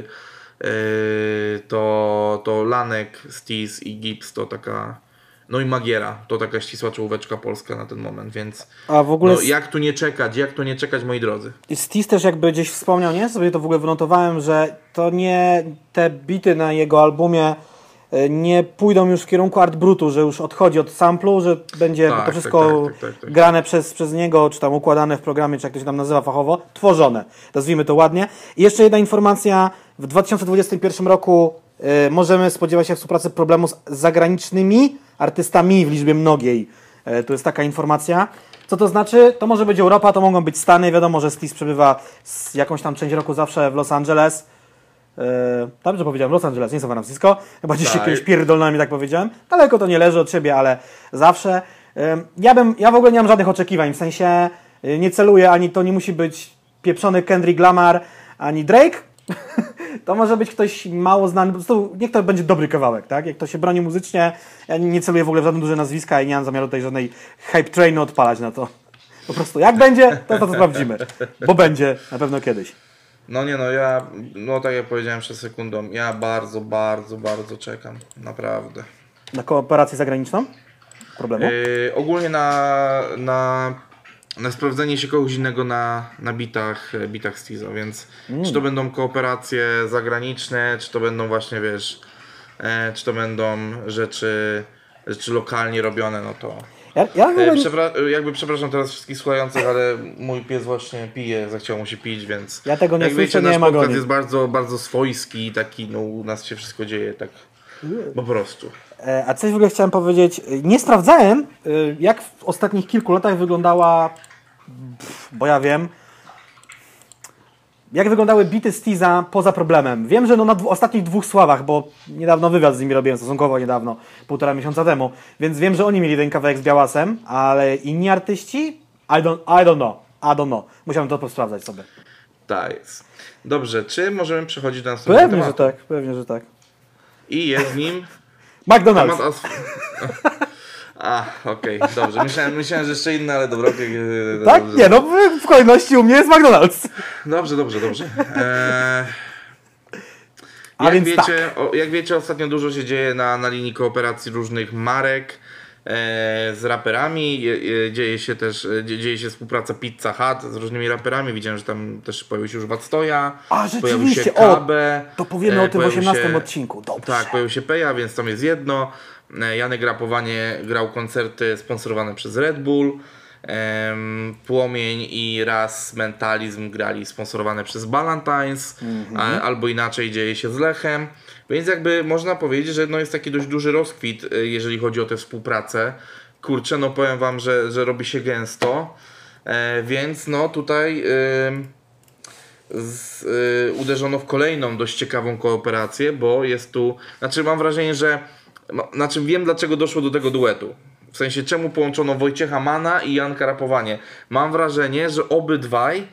to Lanek, Steez i Gips to taka... No i Magiera, to taka ścisła czołóweczka polska na ten moment, więc a w ogóle jak tu nie czekać, moi drodzy. Steez też jakby gdzieś wspomniał, nie? Sobie to w ogóle wynotowałem, że to nie te bity na jego albumie nie pójdą już w kierunku Art Brutu, że już odchodzi od samplu, że będzie to wszystko grane przez niego, czy tam układane w programie, czy jak to się tam nazywa fachowo, tworzone. Nazwijmy to ładnie. I jeszcze jedna informacja, w 2021 roku możemy spodziewać się współpracy problemu z zagranicznymi artystami w liczbie mnogiej. Tu jest taka informacja. Co to znaczy? To może być Europa, to mogą być Stany. Wiadomo, że Steez przebywa jakąś tam część roku zawsze w Los Angeles. Dobrze powiedziałem, Los Angeles, nie San Francisco. Chyba gdzieś się kiedyś pierdolnami tak powiedziałem. Daleko to nie leży od siebie, ale zawsze. Ja w ogóle nie mam żadnych oczekiwań. W sensie nie celuję, ani to nie musi być pieprzony Kendrick Lamar, ani Drake. To może być ktoś mało znany, po prostu niech to będzie dobry kawałek, tak? Jak to się broni muzycznie, ja nie celuję w ogóle w żadne duże nazwiska i nie mam zamiaru tutaj żadnej hype trainu odpalać na to. Po prostu jak będzie, to sprawdzimy, bo będzie na pewno kiedyś. Tak jak powiedziałem przed sekundą, ja bardzo, bardzo, bardzo czekam, naprawdę. Na kooperację zagraniczną? Problemu? Ogólnie na sprawdzenie się kogoś innego na bitach Steeza, więc czy to będą kooperacje zagraniczne, czy to będą właśnie, wiesz, czy to będą rzeczy lokalnie robione, no to... Przepraszam teraz wszystkich słuchających, ale mój pies właśnie pije, zachciał mu się pić, więc... Ja tego nie słyszę, nasz nie ma podcast jest bardzo, bardzo swojski, taki, no u nas się wszystko dzieje tak po prostu. A coś w ogóle chciałem powiedzieć, nie sprawdzałem, jak w ostatnich kilku latach wyglądała, bo ja wiem, jak wyglądały bity Steeza poza problemem. Wiem, że na ostatnich 2 sławach, bo niedawno wywiad z nimi robiłem, stosunkowo niedawno, 1,5 miesiąca temu, więc wiem, że oni mieli ten kawałek z Białasem, ale inni artyści? I don't know. Musiałem to sprawdzać sobie. Tak jest. Dobrze, czy możemy przechodzić do następnego Pewnie, że tak. I jest nim... McDonald's. Okej, dobrze. Myślałem, że jeszcze inne, ale dobra. Tak? Dobrze, Nie, no w kolejności u mnie jest McDonald's. Dobrze. A więc Jak wiecie, ostatnio dużo się dzieje na linii kooperacji różnych marek z raperami. Dzieje się współpraca Pizza Hut z różnymi raperami. Widziałem, że tam też pojawił się już Wactoja. Pojawił się rzeczywiście. KB. To powiemy o tym w 18 odcinku. Dobrze. Tak, pojawił się Peja, więc tam jest jedno. Janek Rapowanie grał koncerty sponsorowane przez Red Bull. Płomień i Raz Mentalizm grali sponsorowane przez Ballantines, albo inaczej dzieje się z Lechem, więc jakby można powiedzieć, że no jest taki dość duży rozkwit, jeżeli chodzi o tę współpracę. Kurczę, no powiem wam, że robi się gęsto, więc no tutaj uderzono w kolejną dość ciekawą kooperację, bo jest tu, mam wrażenie, że wiem, dlaczego doszło do tego duetu. W sensie, czemu połączono Wojciecha Mana i Janka Rapowanie. Mam wrażenie, że obydwaj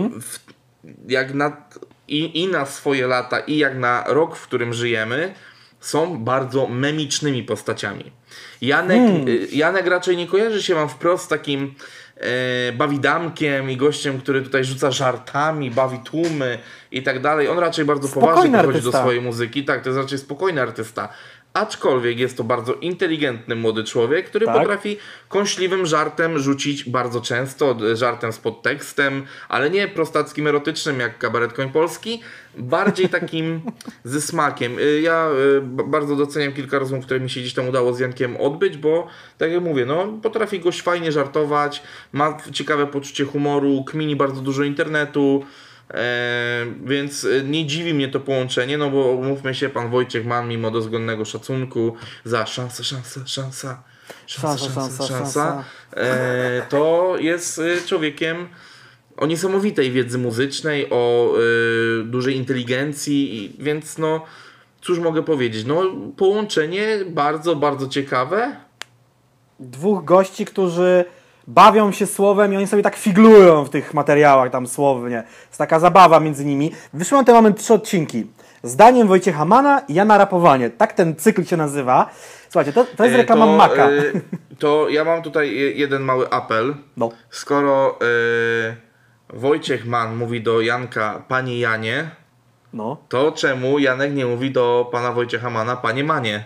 i na swoje lata, i jak na rok, w którym żyjemy, są bardzo memicznymi postaciami. Janek raczej nie kojarzy się wam wprost z takim bawidamkiem i gościem, który tutaj rzuca żartami, bawi tłumy i tak dalej. On raczej bardzo poważnie podchodzi do swojej muzyki. Tak, to jest raczej spokojny artysta. Aczkolwiek jest to bardzo inteligentny młody człowiek, który potrafi kąśliwym żartem rzucić bardzo często, żartem z podtekstem, ale nie prostackim, erotycznym jak Kabaret Koń Polski, bardziej takim ze smakiem. Ja bardzo doceniam kilka rozmów, które mi się gdzieś tam udało z Jankiem odbyć, bo tak jak mówię, no potrafi gość fajnie żartować, ma ciekawe poczucie humoru, kmini bardzo dużo internetu. Więc nie dziwi mnie to połączenie, no bo umówmy się, pan Wojciech Mann, mimo dozgonnego szacunku za szansa, to jest człowiekiem o niesamowitej wiedzy muzycznej, o dużej inteligencji, więc no cóż mogę powiedzieć, no połączenie bardzo, bardzo ciekawe. Dwóch gości, którzy bawią się słowem i oni sobie tak figlują w tych materiałach tam słownie. Jest taka zabawa między nimi. Wyszły na ten moment 3 odcinki. Zdaniem Wojciecha Mana i Jana Rapowanie. Tak ten cykl się nazywa. Słuchajcie, to jest reklama Maka. To ja mam tutaj jeden mały apel. No. Skoro Wojciech Mann mówi do Janka panie Janie, to czemu Janek nie mówi do pana Wojciecha Mana panie Manie?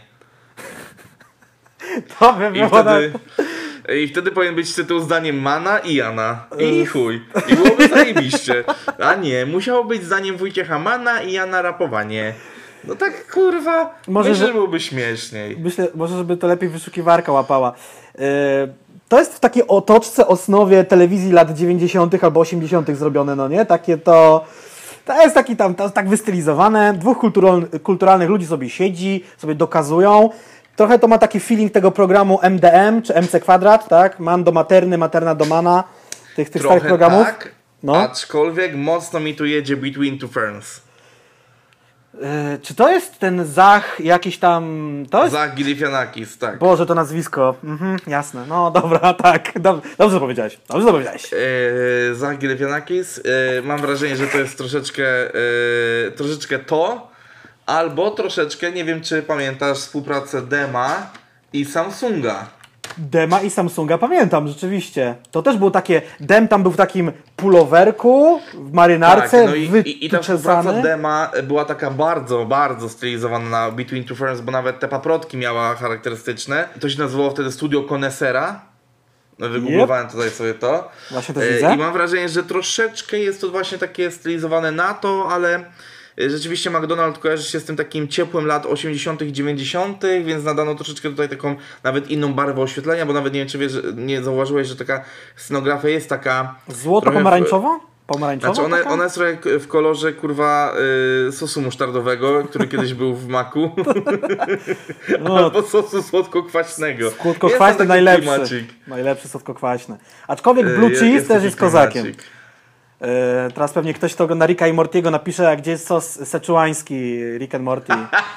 To by było I wtedy powinien być tytuł zdaniem Mana i Jana. I chuj. I byłoby zajebiście. A nie, musiało być zdaniem Wojciecha Mana i Jana Rapowanie. No tak kurwa, myślę, że byłoby śmieszniej. Myślę, może żeby to lepiej wyszukiwarka łapała. To jest w takiej otoczce, osnowie telewizji lat 90. albo 80. zrobione, no nie? Takie to jest taki tam, to jest tak wystylizowane. Dwóch kulturalnych ludzi sobie siedzi, sobie dokazują. Trochę to ma taki feeling tego programu MDM, czy MC Kwadrat, tak? Man do materny, materna do mana, tych starych programów. Tak, aczkolwiek mocno mi tu jedzie Between Two Ferns. Czy to jest ten Zach jakiś tam... Zach Galifianakis, tak. Boże, to nazwisko. Jasne, no dobra, tak. Dobrze powiedziałeś. Zach Galifianakis. Mam wrażenie, że to jest troszeczkę to, albo troszeczkę, nie wiem czy pamiętasz współpracę Dema i Samsunga. Dema i Samsunga pamiętam, rzeczywiście. To też było takie, Dem tam był w takim pulowerku, w marynarce, tak, no i ta współpraca Dema była taka bardzo, bardzo stylizowana na Between Two Ferns, bo nawet te paprotki miała charakterystyczne. To się nazywało wtedy Studio Connoissera. Wygooglowałem tutaj sobie to. Właśnie też widzę. I mam wrażenie, że troszeczkę jest to właśnie takie stylizowane na to, ale rzeczywiście McDonald's kojarzy się z tym takim ciepłym lat 80. i 90., więc nadano troszeczkę tutaj taką nawet inną barwę oświetlenia, bo nawet nie wiem, czy wiesz, nie zauważyłeś, że taka scenografia jest taka... Złoto-pomarańczowa? Znaczy ona jest trochę w kolorze kurwa sosu musztardowego, który kiedyś był w maku. Albo sosu słodko-kwaśnego. Słodko-kwaśny najlepszy. Najlepszy słodko-kwaśny. Aczkolwiek Blue Cheese też jest kozakiem. Teraz pewnie ktoś, kto ogląda Ricka i Mortiego, napisze, a gdzie jest sos seczuański Rick and Morty.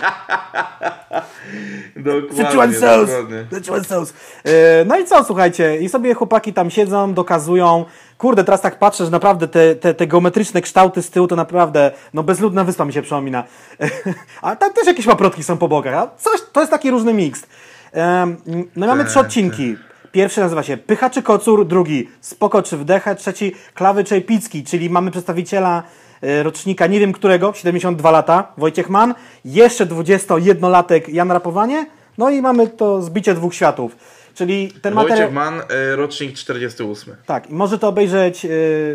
Dokładnie. Szechuan sauce. No i co, słuchajcie, i sobie chłopaki tam siedzą, dokazują. Kurde, teraz tak patrzę, że naprawdę te geometryczne kształty z tyłu to naprawdę, no bezludna wyspa mi się przypomina. A tam też jakieś paprotki są po bokach. A coś, to jest taki różny miks. No mamy 3 odcinki. Pierwszy nazywa się Pycha czy Kocur, drugi Spoko czy Wdecha, trzeci Klawy czy Epicki, czyli mamy przedstawiciela rocznika, nie wiem którego, 72 lata, Wojciech Mann, jeszcze 21-latek Jan Rapowanie, no i mamy to zbicie 2 światów. Czyli ten materiał... Wojciech Mann, rocznik 48. Tak, i może to obejrzeć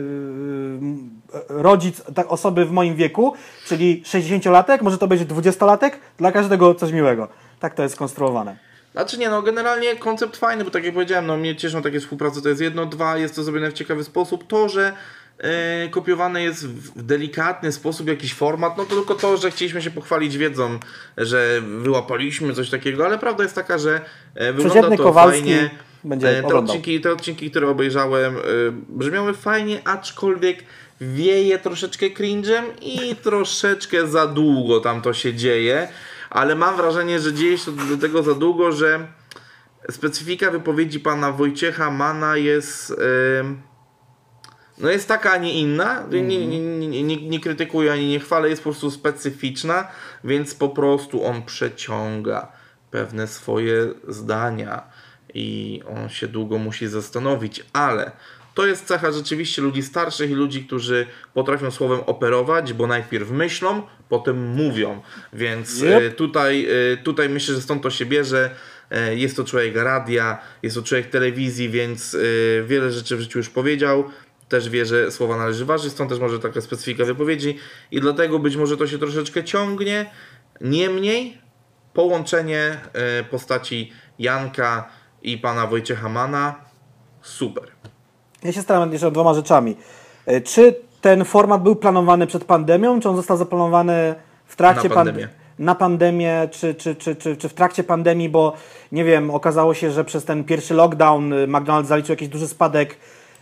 rodzic osoby w moim wieku, czyli 60-latek, może to obejrzeć 20-latek, dla każdego coś miłego. Tak to jest skonstruowane. Znaczy nie, no generalnie koncept fajny, bo tak jak powiedziałem, no mnie cieszą takie współprace, to jest jedno, dwa, jest to zrobione w ciekawy sposób. To, że kopiowane jest w delikatny sposób jakiś format, no to tylko to, że chcieliśmy się pochwalić wiedzą, że wyłapaliśmy coś takiego, ale prawda jest taka, że wygląda to Kowalski fajnie. będzie Te odcinki, które obejrzałem, brzmiały fajnie, aczkolwiek wieje troszeczkę cringe'em i troszeczkę za długo tam to się dzieje, ale mam wrażenie, że dzieje się do tego za długo, że specyfika wypowiedzi pana Wojciecha Manna jest no jest taka, a nie inna. Nie krytykuję ani nie chwalę, jest po prostu specyficzna, więc po prostu on przeciąga pewne swoje zdania i on się długo musi zastanowić, ale to jest cecha rzeczywiście ludzi starszych i ludzi, którzy potrafią słowem operować, bo najpierw myślą, potem mówią, więc tutaj myślę, że stąd to się bierze. Jest to człowiek radia, jest to człowiek telewizji, więc wiele rzeczy w życiu już powiedział. Też wie, że słowa należy ważyć, stąd też może taka specyfika wypowiedzi i dlatego być może to się troszeczkę ciągnie. Niemniej połączenie postaci Janka i pana Wojciecha Manna super. Ja się staram jeszcze 2 rzeczami. Czy ten format był planowany przed pandemią, czy on został zaplanowany w trakcie na pandemię, czy w trakcie pandemii, bo nie wiem, okazało się, że przez ten pierwszy lockdown McDonald's zaliczył jakiś duży spadek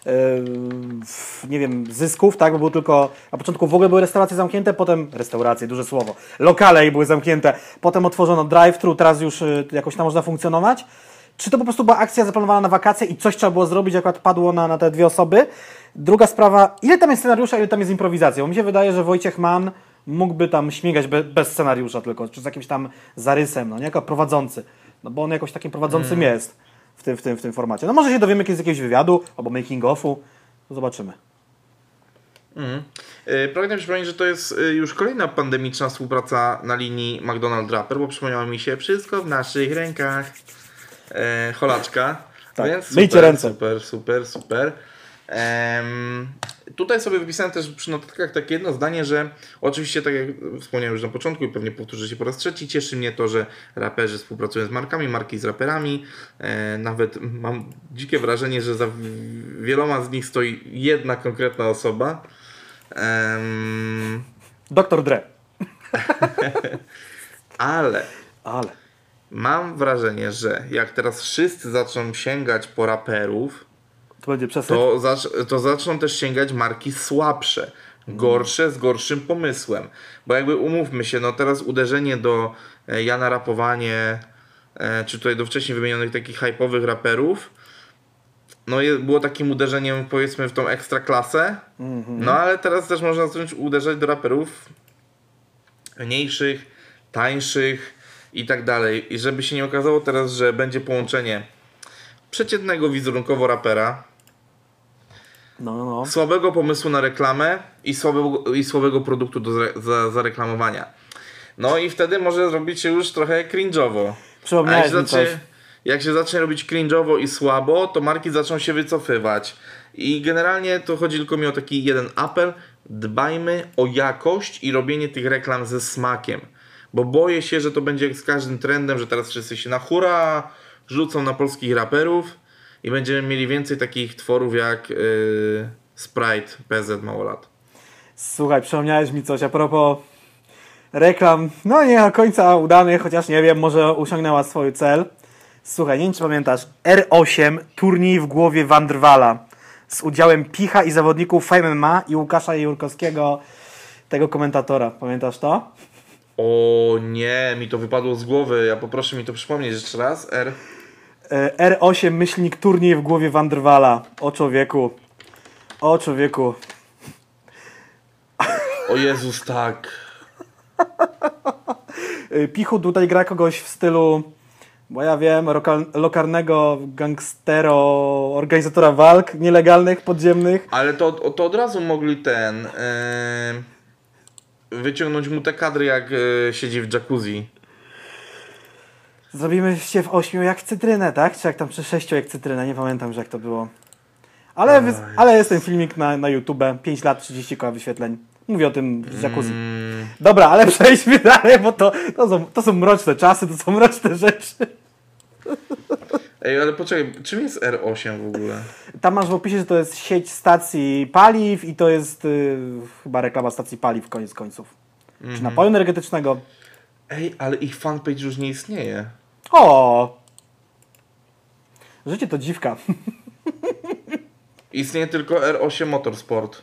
nie wiem, zysków, tak, bo było tylko, na początku w ogóle były restauracje zamknięte, potem, duże słowo, lokale były zamknięte, potem otworzono drive-thru, teraz już jakoś tam można funkcjonować. Czy to po prostu była akcja zaplanowana na wakacje i coś trzeba było zrobić, akurat padło na te 2 osoby? Druga sprawa, ile tam jest scenariusza, ile tam jest improwizacji? Bo mi się wydaje, że Wojciech Mann mógłby tam śmigać bez scenariusza tylko, czy z jakimś tam zarysem, no nie, jako prowadzący, no bo on jakoś takim prowadzącym jest w tym formacie. No może się dowiemy kiedyś z jakiegoś wywiadu, albo making-offu, zobaczymy. Pragnę przypomnieć, że to jest już kolejna pandemiczna współpraca na linii McDonald's Rapper, bo przypomniało mi się wszystko w naszych rękach. Cholaczka. Tak, więc myjcie ręce. Super. Tutaj sobie wypisałem też przy notatkach takie jedno zdanie, że oczywiście, tak jak wspomniałem już na początku i pewnie powtórzę się po raz trzeci, cieszy mnie to, że raperzy współpracują z markami, marki z raperami. Nawet mam dzikie wrażenie, że za wieloma z nich stoi jedna konkretna osoba. Dr. Dre. Ale mam wrażenie, że jak teraz wszyscy zaczną sięgać po raperów, to będzie przesyt. To zaczną też sięgać marki słabsze, gorsze, z gorszym pomysłem. Bo jakby umówmy się, no teraz uderzenie do Jana Rapowanie, czy tutaj do wcześniej wymienionych takich hype'owych raperów, no było takim uderzeniem powiedzmy w tą ekstraklasę, no ale teraz też można zacząć uderzać do raperów mniejszych, tańszych i tak dalej. I żeby się nie okazało teraz, że będzie połączenie przeciętnego wizerunkowo rapera, słabego pomysłu na reklamę i słabego produktu do zareklamowania. No i wtedy może zrobić się już trochę cringe'owo. Jak się zacznie robić cringe'owo i słabo, to marki zaczną się wycofywać. I generalnie to chodzi tylko mi o taki jeden apel. Dbajmy o jakość i robienie tych reklam ze smakiem. Bo boję się, że to będzie jak z każdym trendem, że teraz wszyscy się na hura rzucą na polskich raperów i będziemy mieli więcej takich tworów jak Sprite, PZ mało lat. Słuchaj, przypomniałeś mi coś a propos reklam, no nie do końca udanych, chociaż nie wiem, może osiągnęła swój cel. Słuchaj, nie wiem czy pamiętasz, R8, turniej w głowie Wandrwala z udziałem Picha i zawodników Fame MMA i Łukasza Jurkowskiego, tego komentatora. Pamiętasz to? O nie, mi to wypadło z głowy. Ja poproszę mi to przypomnieć jeszcze raz. R8 myślnik turniej w głowie Wandrwala. O człowieku. O człowieku. O Jezus, tak. Pichu tutaj gra kogoś w stylu Bo ja wiem, lokalnego gangstero, organizatora walk nielegalnych, podziemnych. Ale to od razu mogli wyciągnąć mu te kadry, jak siedzi w jacuzzi. Zrobimy się w 8 jak cytrynę, tak? Czy jak tam przy 6 jak cytrynę, nie pamiętam, że jak to było. Ale jest ten filmik na YouTube, 5 lat, 30 koła wyświetleń. Mówię o tym z jacuzzi. Dobra, ale przejdźmy dalej, bo to są mroczne czasy, to są mroczne rzeczy. Ej, ale poczekaj, czym jest R8 w ogóle? Tam masz w opisie, że to jest sieć stacji paliw i to jest chyba reklama stacji paliw koniec końców. Czy napoju energetycznego. Ej, ale ich fanpage już nie istnieje. O! Życie to dziwka. Istnieje tylko R8 Motorsport,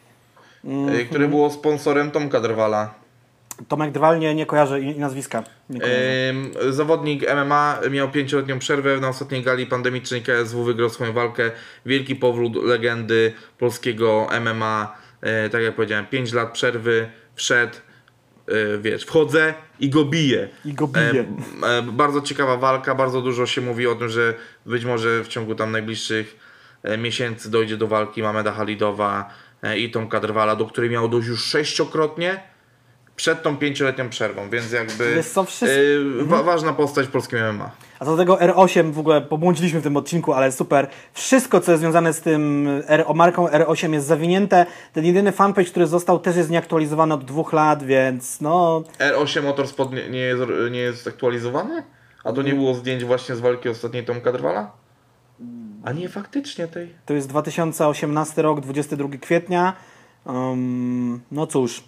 który było sponsorem Tomka Drwala. Tomek Drwal nie kojarzę i nazwiska. Nie kojarzę. Zawodnik MMA miał 5-letnią przerwę. Na ostatniej gali pandemicznej KSW wygrał swoją walkę. Wielki powrót legendy polskiego MMA. Tak jak powiedziałem, 5 lat przerwy. Wszedł, wchodzę i go biję. Bardzo ciekawa walka. Bardzo dużo się mówi o tym, że być może w ciągu tam najbliższych miesięcy dojdzie do walki Mameda Halidowa i Tomka Drwala, do której miało dojść już 6-krotnie przed tą 5-letnią przerwą, więc jakby ważna postać w polskim MMA. A co do tego R8 w ogóle pobłądziliśmy w tym odcinku, ale super. Wszystko, co jest związane z tym marką R8 jest zawinięte. Ten jedyny fanpage, który został, też jest nieaktualizowany od 2 lat, więc no... R8 Motorsport nie jest aktualizowany? A to nie było zdjęć właśnie z walki ostatniej Tomka Drwala? A nie, faktycznie tej. To jest 2018 rok, 22 kwietnia. No cóż.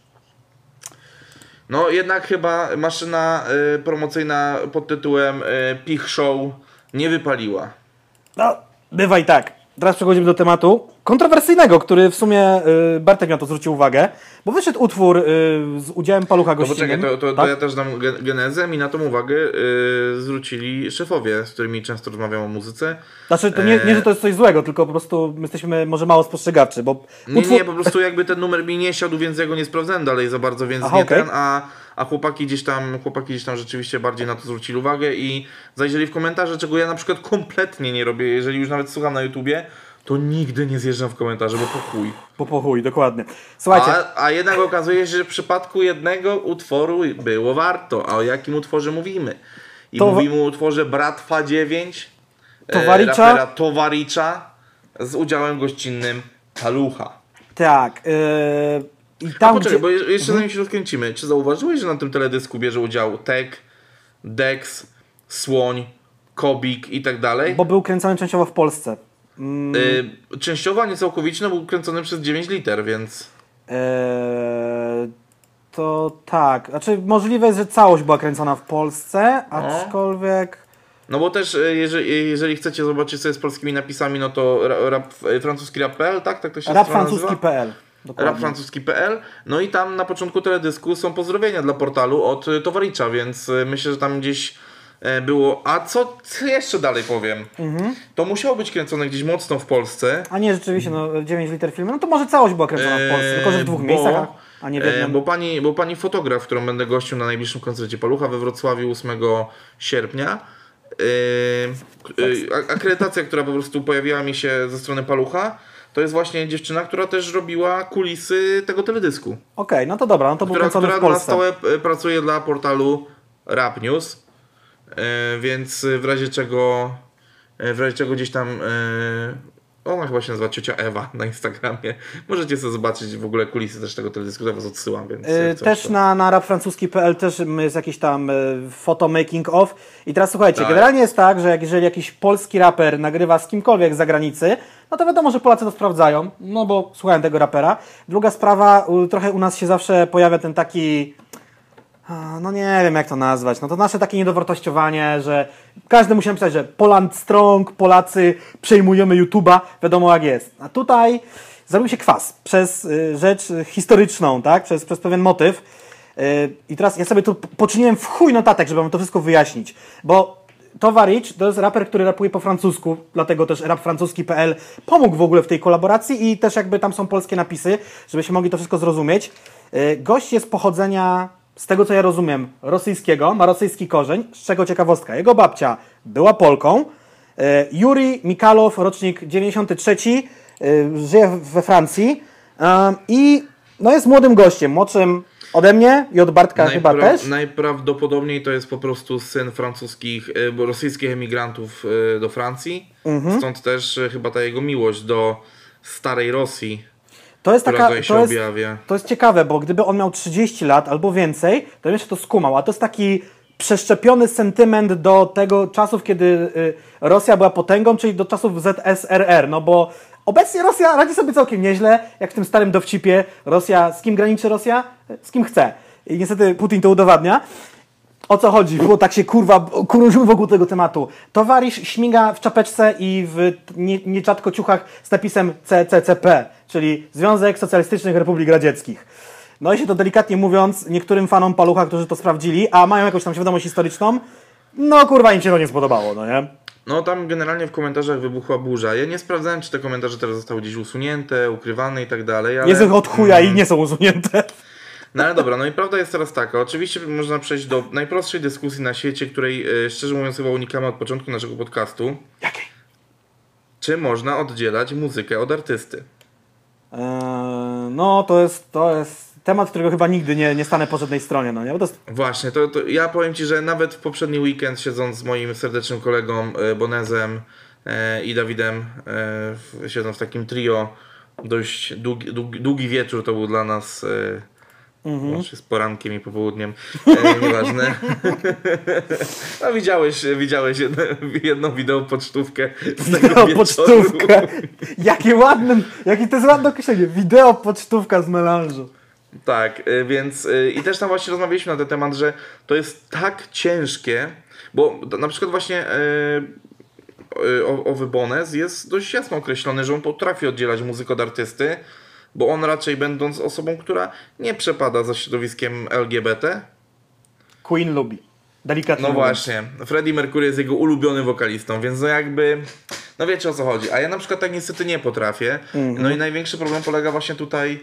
No jednak chyba maszyna promocyjna pod tytułem Pich Show nie wypaliła. No, bywa i tak. Teraz przechodzimy do tematu kontrowersyjnego, który w sumie Bartek na to zwrócił uwagę, bo wyszedł utwór z udziałem palucha gościnnym. No poczekaj, tak? to ja też dam genezę. Mi na tą uwagę zwrócili szefowie, z którymi często rozmawiam o muzyce. Znaczy, to nie, że to jest coś złego, tylko po prostu my jesteśmy może mało spostrzegawczy, bo... Nie, po prostu jakby ten numer mi nie siadł, więc ja go nie sprawdzałem dalej za bardzo, więc a chłopaki gdzieś tam rzeczywiście bardziej na to zwrócili uwagę i zajrzeli w komentarze, czego ja na przykład kompletnie nie robię, jeżeli już nawet słucham na YouTubie, to nigdy nie zjeżdżam w komentarze, bo po chuj. Dokładnie. Słuchajcie. A jednak okazuje się, że w przypadku jednego utworu było warto. A o jakim utworze mówimy? Mówimy o utworze Bratwa 9, rapera Towaricza z udziałem gościnnym Palucha. Tak. I tam, poczekaj, bo jeszcze zanim się rozkręcimy. Czy zauważyłeś, że na tym teledysku bierze udział Tek, Dex, Słoń, Kobik i tak dalej? Bo był kręcony częściowo w Polsce. Częściowo, a nie całkowicie, był kręcony przez 9 liter, więc... To tak. Znaczy możliwe jest, że całość była kręcona w Polsce, aczkolwiek... No bo też, jeżeli chcecie zobaczyć sobie z polskimi napisami, no to francuski rap.pl, tak? Tak to się Rapfrancuski.pl. Rapfrancuski.pl. No i tam na początku teledysku są pozdrowienia dla portalu od Towaricza, więc myślę, że tam gdzieś było... A co jeszcze dalej powiem? To musiało być kręcone gdzieś mocno w Polsce. A nie, rzeczywiście, 9 liter filmu. No to może całość była kręcona w Polsce, tylko że w 2 miejscach, a nie w jednym. Bo pani fotograf, którą będę gościł na najbliższym koncercie Palucha we Wrocławiu 8 sierpnia, akredytacja, która po prostu pojawiła mi się ze strony Palucha, to jest właśnie dziewczyna, która też robiła kulisy tego teledysku. Okej, no to dobra, no to był kręcony w Polsce. Która na stałe pracuje dla portalu Rap News, więc w razie czego gdzieś tam ona chyba się nazywa Ciocia Ewa na Instagramie. Możecie sobie zobaczyć w ogóle kulisy też tego teledysku, was odsyłam. Więc też na rapfrancuski.pl też jest jakiś tam photo making of. I teraz słuchajcie, generalnie jest tak, że jeżeli jakiś polski raper nagrywa z kimkolwiek z zagranicy, no to wiadomo, że Polacy to sprawdzają, no bo słuchałem tego rapera. Druga sprawa, trochę u nas się zawsze pojawia ten taki... No nie wiem jak to nazwać, no to nasze takie niedowartościowanie, że każdy musi napisać, że Poland Strong, Polacy przejmujemy YouTube'a, wiadomo jak jest. A tutaj zrobił się kwas przez rzecz historyczną, tak? Przez pewien motyw. I teraz ja sobie tu poczyniłem w chuj notatek, żeby wam to wszystko wyjaśnić, bo Towaricz to jest raper, który rapuje po francusku, dlatego też rapfrancuski.pl pomógł w ogóle w tej kolaboracji i też jakby tam są polskie napisy, żebyśmy mogli to wszystko zrozumieć. Gość jest pochodzenia z tego co ja rozumiem, rosyjskiego, ma rosyjski korzeń, z czego ciekawostka, jego babcia była Polką. Juri Mikalow, rocznik 93, żyje we Francji i no jest młodym gościem, młodszym ode mnie i od Bartka chyba też. Najprawdopodobniej to jest po prostu syn rosyjskich emigrantów do Francji. Stąd też chyba ta jego miłość do starej Rosji. To jest ciekawe, bo gdyby on miał 30 lat albo więcej, to bym jeszcze to skumał, a to jest taki przeszczepiony sentyment do tego czasów, kiedy Rosja była potęgą, czyli do czasów ZSRR, no bo obecnie Rosja radzi sobie całkiem nieźle, jak w tym starym dowcipie. Rosja, z kim graniczy Rosja? Z kim chce. I niestety Putin to udowadnia. O co chodzi? Bo tak się kurzymy wokół tego tematu. Towarzysz śmiga w czapeczce i w nierzadko ciuchach z napisem CCCP, czyli Związek Socjalistycznych Republik Radzieckich. No i się to delikatnie mówiąc, niektórym fanom palucha, którzy to sprawdzili, a mają jakąś tam świadomość historyczną, no kurwa im się to nie spodobało, no nie? No tam generalnie w komentarzach wybuchła burza. Ja nie sprawdzałem, czy te komentarze teraz zostały gdzieś usunięte, ukrywane i tak dalej, ale... Jest ich od chuja i nie są usunięte. No ale dobra, no i prawda jest teraz taka. Oczywiście można przejść do najprostszej dyskusji na świecie, której szczerze mówiąc chyba unikamy od początku naszego podcastu. Jakiej? Czy można oddzielać muzykę od artysty? No to jest temat, którego chyba nigdy nie stanę po żadnej stronie, no nie? Bo to jest... Właśnie, to ja powiem Ci, że nawet w poprzedni weekend siedząc z moim serdecznym kolegą Bonezem i Dawidem, siedząc w takim trio, dość długi wieczór to był dla nas... Łącznie z porankiem i popołudniem. Nieważne. No widziałeś jedną wideopocztówkę z tego Wideopocztówka. Jakie to jest ładne określenie. Wideopocztówka z melanżu. Tak, więc i też tam właśnie rozmawialiśmy na ten temat, że to jest tak ciężkie, bo na przykład właśnie owy Bonez jest dość jasno określony, że on potrafi oddzielać muzykę od artysty, bo on raczej będąc osobą, która nie przepada za środowiskiem LGBT. Queen lubi. Delikatnie No mówiąc. właśnie. Freddie Mercury jest jego ulubionym wokalistą, więc no jakby... No wiecie o co chodzi. A ja na przykład tak niestety nie potrafię. No i największy problem polega właśnie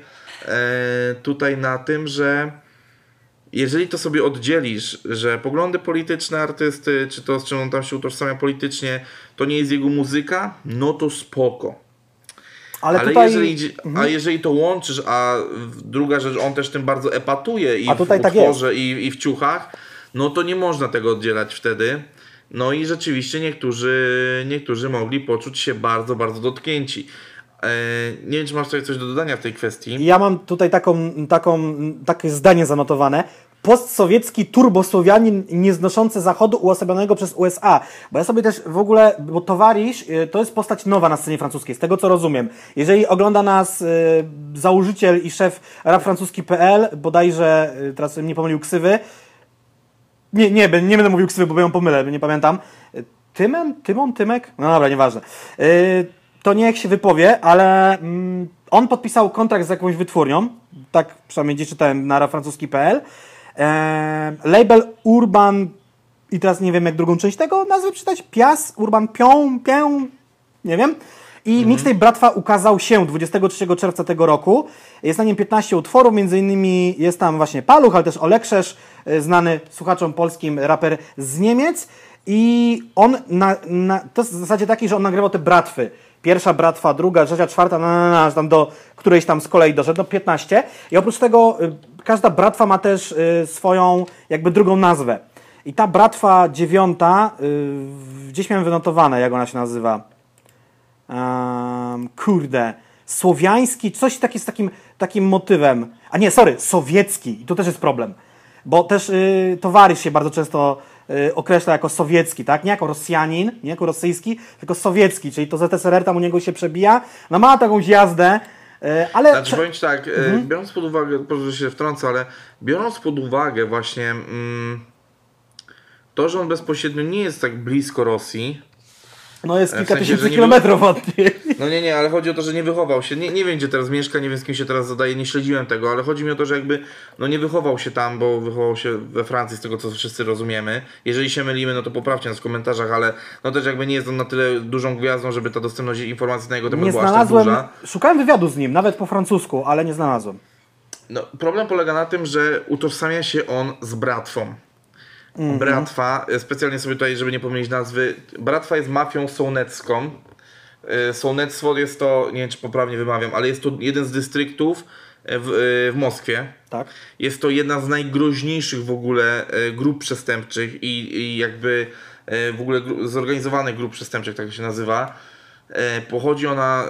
tutaj na tym, że jeżeli to sobie oddzielisz, że poglądy polityczne artysty, czy to z czym on tam się utożsamia politycznie, to nie jest jego muzyka, no to spoko. Ale tutaj... jeżeli to łączysz, a druga rzecz, on też tym bardzo epatuje i w utworze, tak i w ciuchach, no to nie można tego oddzielać wtedy. No i rzeczywiście niektórzy mogli poczuć się bardzo, bardzo dotknięci. Nie wiem, czy masz coś do dodania w tej kwestii. Ja mam tutaj takie zdanie zanotowane. Postsowiecki turbosłowianin nieznoszący Zachodu uosobionego przez USA. Bo ja sobie też w ogóle, bo towarzysz to jest postać nowa na scenie francuskiej, z tego co rozumiem. Jeżeli ogląda nas założyciel i szef rapfrancuski.pl, bodajże, teraz nie pomylił ksywy, nie będę mówił ksywy, bo ją pomylę, nie pamiętam. Tymek? No dobra, nieważne. To niech się wypowie, ale on podpisał kontrakt z jakąś wytwórnią, tak przynajmniej gdzieś czytałem na rapfrancuski.pl. Label Urban i teraz nie wiem jak drugą część tego nazwy przeczytać, Pias, Urban Pią, nie wiem. I mixtape Bratwa ukazał się 23 czerwca tego roku. Jest na nim 15 utworów, między innymi jest tam właśnie Paluch, ale też Olekszesz, znany słuchaczom polskim raper z Niemiec. I on, to jest w zasadzie taki, że on nagrywał te bratwy. Pierwsza bratwa, druga, trzecia, czwarta, tam do którejś tam z kolei doszedł, do 15. I oprócz tego każda bratwa ma też swoją jakby drugą nazwę. I ta bratwa 9, gdzieś miałem wynotowane, jak ona się nazywa. Słowiański, coś taki z takim motywem. A nie, sowiecki. I tu też jest problem. Bo też towarzysz się bardzo często określa jako sowiecki, tak? Nie jako Rosjanin, nie jako rosyjski, tylko sowiecki, czyli to ZSRR tam u niego się przebija. No ma jakąś jazdę, ale... Znaczy powiem Ci tak, biorąc pod uwagę, proszę się wtrącę, ale biorąc pod uwagę właśnie to, że on bezpośrednio nie jest tak blisko Rosji. No jest kilka tysięcy kilometrów od niej. No nie, ale chodzi o to, że nie wychował się, nie wiem gdzie teraz mieszka, nie wiem z kim się teraz zadaje, nie śledziłem tego, ale chodzi mi o to, że jakby no nie wychował się tam, bo wychował się we Francji, z tego co wszyscy rozumiemy. Jeżeli się mylimy, no to poprawcie nas w komentarzach, ale no też jakby nie jest on na tyle dużą gwiazdą, żeby ta dostępność informacji na jego temat była aż tak duża. Szukałem wywiadu z nim, nawet po francusku, ale nie znalazłem. No, problem polega na tym, że utożsamia się on z Bratwą. Bratwa, specjalnie sobie tutaj, żeby nie pomylić nazwy, Bratwa jest mafią sołnecką. Sołnectwo jest to, nie wiem czy poprawnie wymawiam, ale jest to jeden z dystryktów w Moskwie. Tak. Jest to jedna z najgroźniejszych w ogóle grup przestępczych i jakby w ogóle zorganizowanych grup przestępczych, tak to się nazywa. Pochodzi ona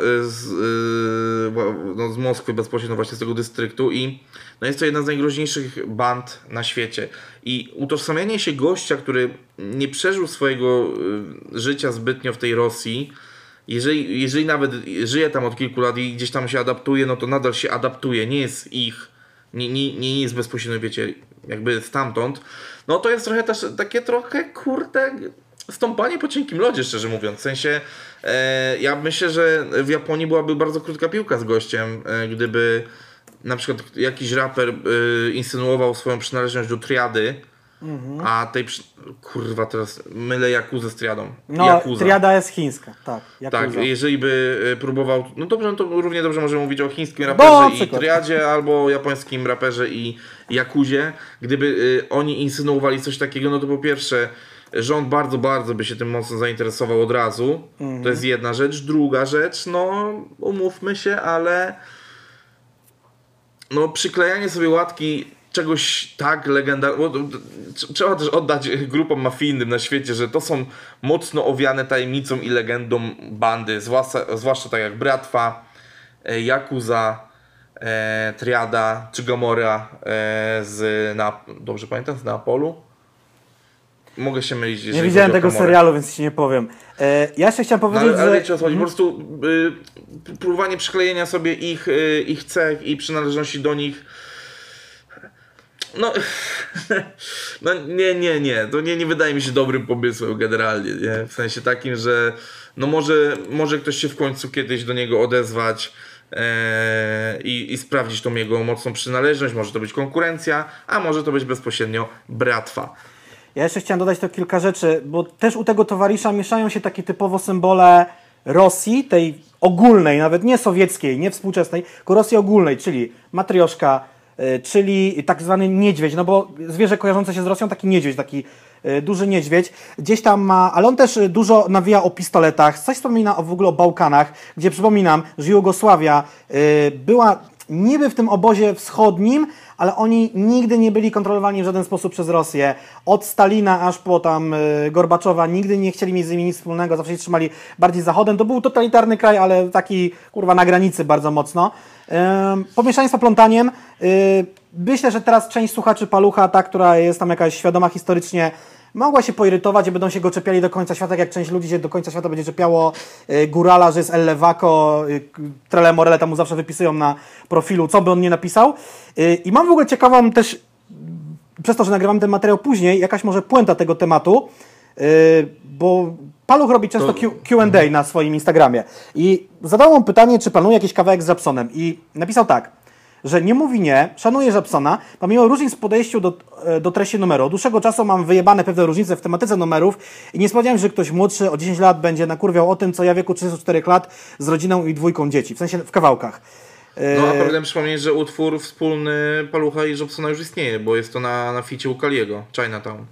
z Moskwy bezpośrednio właśnie z tego dystryktu i no jest to jedna z najgroźniejszych band na świecie. I utożsamianie się gościa, który nie przeżył swojego życia zbytnio w tej Rosji, jeżeli nawet żyje tam od kilku lat i gdzieś tam się adaptuje, no to nadal się adaptuje, nie jest ich, nie jest bezpośrednio, wiecie, jakby stamtąd, no to jest trochę też takie trochę, kurde, stąpanie po cienkim lodzie, szczerze mówiąc. W sensie, ja myślę, że w Japonii byłaby bardzo krótka piłka z gościem, gdyby na przykład jakiś raper insynuował swoją przynależność do triady, a tej kurwa teraz mylę Jakuzę z triadą. No, Yakuza. triada jest chińska, tak. Tak, Yakuza. jeżeli by próbował, no dobrze, no to równie dobrze możemy mówić o chińskim raperze i triadzie, albo japońskim raperze i Yakuzie. Gdyby oni insynuowali coś takiego, no to po pierwsze rząd bardzo, bardzo by się tym mocno zainteresował od razu. To jest jedna rzecz. Druga rzecz, no umówmy się, ale no przyklejanie sobie łatki czegoś tak legendarnego. Trzeba też oddać grupom mafijnym na świecie, że to są mocno owiane tajemnicą i legendą bandy, zwłaszcza tak jak Bratwa, Yakuza, Triada czy Gomorra dobrze pamiętam, z Neapolu? Mogę się mylić. Nie widziałem tego serialu, więc ci nie powiem. Ja jeszcze chciałem powiedzieć, ale że... wiecie o co chodzi, po prostu próbowanie przyklejenia sobie ich cech i przynależności do nich. No, no nie. To nie wydaje mi się dobrym pomysłem generalnie, nie? W sensie takim, że no może ktoś się w końcu kiedyś do niego odezwać i sprawdzić tą jego mocną przynależność. Może to być konkurencja, a może to być bezpośrednio Bratwa. Ja jeszcze chciałem dodać to kilka rzeczy, bo też u tego towarzysza mieszają się takie typowo symbole Rosji, tej ogólnej, nawet nie sowieckiej, nie współczesnej, tylko Rosji ogólnej, czyli matrioszka, czyli tak zwany niedźwiedź, no bo zwierzę kojarzące się z Rosją, taki niedźwiedź, taki duży niedźwiedź, gdzieś tam ma, ale on też dużo nawija o pistoletach, coś wspomina w ogóle o Bałkanach, gdzie przypominam, że Jugosławia była niby w tym obozie wschodnim, ale oni nigdy nie byli kontrolowani w żaden sposób przez Rosję. Od Stalina aż po tam Gorbaczowa nigdy nie chcieli mieć z nimi nic wspólnego, zawsze się trzymali bardziej zachodem. To był totalitarny kraj, ale taki kurwa na granicy bardzo mocno. Pomieszaństwo plątaniem. Myślę, że teraz część słuchaczy Palucha, ta, która jest tam jakaś świadoma historycznie, mogła się poirytować i będą się go czepiali do końca świata, jak część ludzi się do końca świata będzie czepiało Górala, że jest El Lewaco, Trele Morele tam mu zawsze wypisują na profilu, co by on nie napisał. I mam w ogóle ciekawą też, przez to, że nagrywam ten materiał później, jakaś może puenta tego tematu, bo Paluch robi często Q&A na swoim Instagramie i zadał mu pytanie, czy planuje jakiś kawałek z Żabsonem i napisał tak, że nie mówi nie, szanuje Żabsona, pomimo różnic w podejściu do treści numeru. Od dłuższego czasu mam wyjebane pewne różnice w tematyce numerów i nie spodziewałem się, że ktoś młodszy o 10 lat będzie nakurwiał o tym, co ja w wieku 34 lat z rodziną i 2 dzieci, w sensie w kawałkach. No a powinienem przypomnieć, że utwór wspólny Palucha i Żabsona już istnieje, bo jest to na ficie u Kaliego, Chinatown.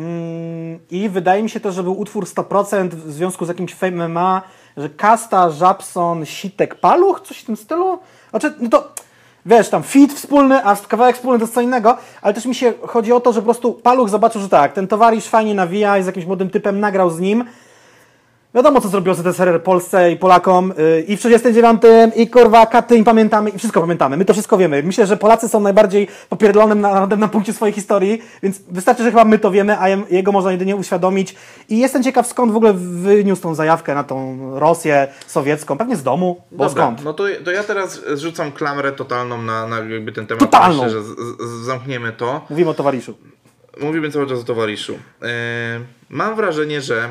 I wydaje mi się też, że był utwór 100% w związku z jakimś Fame MMA, że Kasta, Żabson, Sitek, Paluch, coś w tym stylu. Znaczy, no to wiesz, tam feat wspólny, a kawałek wspólny to jest co innego, ale też mi się chodzi o to, że po prostu Paluch zobaczył, że tak, ten towarzysz fajnie nawija i z jakimś młodym typem nagrał z nim. Wiadomo, co zrobił ZSRR Polsce i Polakom i w 39 i kurwa katy i pamiętamy i wszystko pamiętamy. My to wszystko wiemy. Myślę, że Polacy są najbardziej popierdolonym narodem na punkcie swojej historii, więc wystarczy, że chyba my to wiemy, a jego można jedynie uświadomić. I jestem ciekaw, skąd w ogóle wyniósł tą zajawkę na tą Rosję sowiecką. Pewnie z domu, bo dobra, skąd? no to ja teraz zrzucam klamrę totalną na jakby ten temat. Totalną! Myślę, że zamkniemy to. Mówimy o towarzyszu. Mówimy cały czas o towarzyszu. Mam wrażenie, że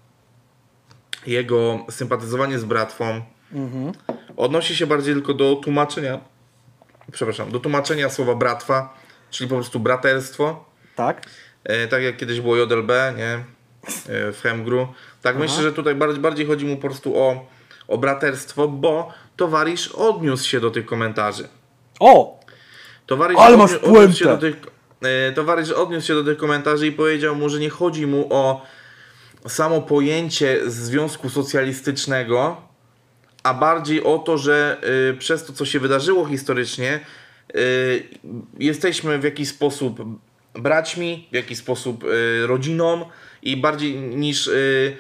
jego sympatyzowanie z Bratwą odnosi się bardziej tylko do tłumaczenia słowa Bratwa, czyli po prostu braterstwo. Tak? Tak jak kiedyś było JLB, nie? W Hemgru. Tak myślę, że tutaj bardziej chodzi mu po prostu o braterstwo, bo towarzysz odniósł się do tych komentarzy. O! Towarzysz odniósł się do tych komentarzy i powiedział mu, że nie chodzi mu o samo pojęcie związku socjalistycznego, a bardziej o to, że przez to, co się wydarzyło historycznie, jesteśmy w jakiś sposób braćmi, w jakiś sposób rodziną i bardziej niż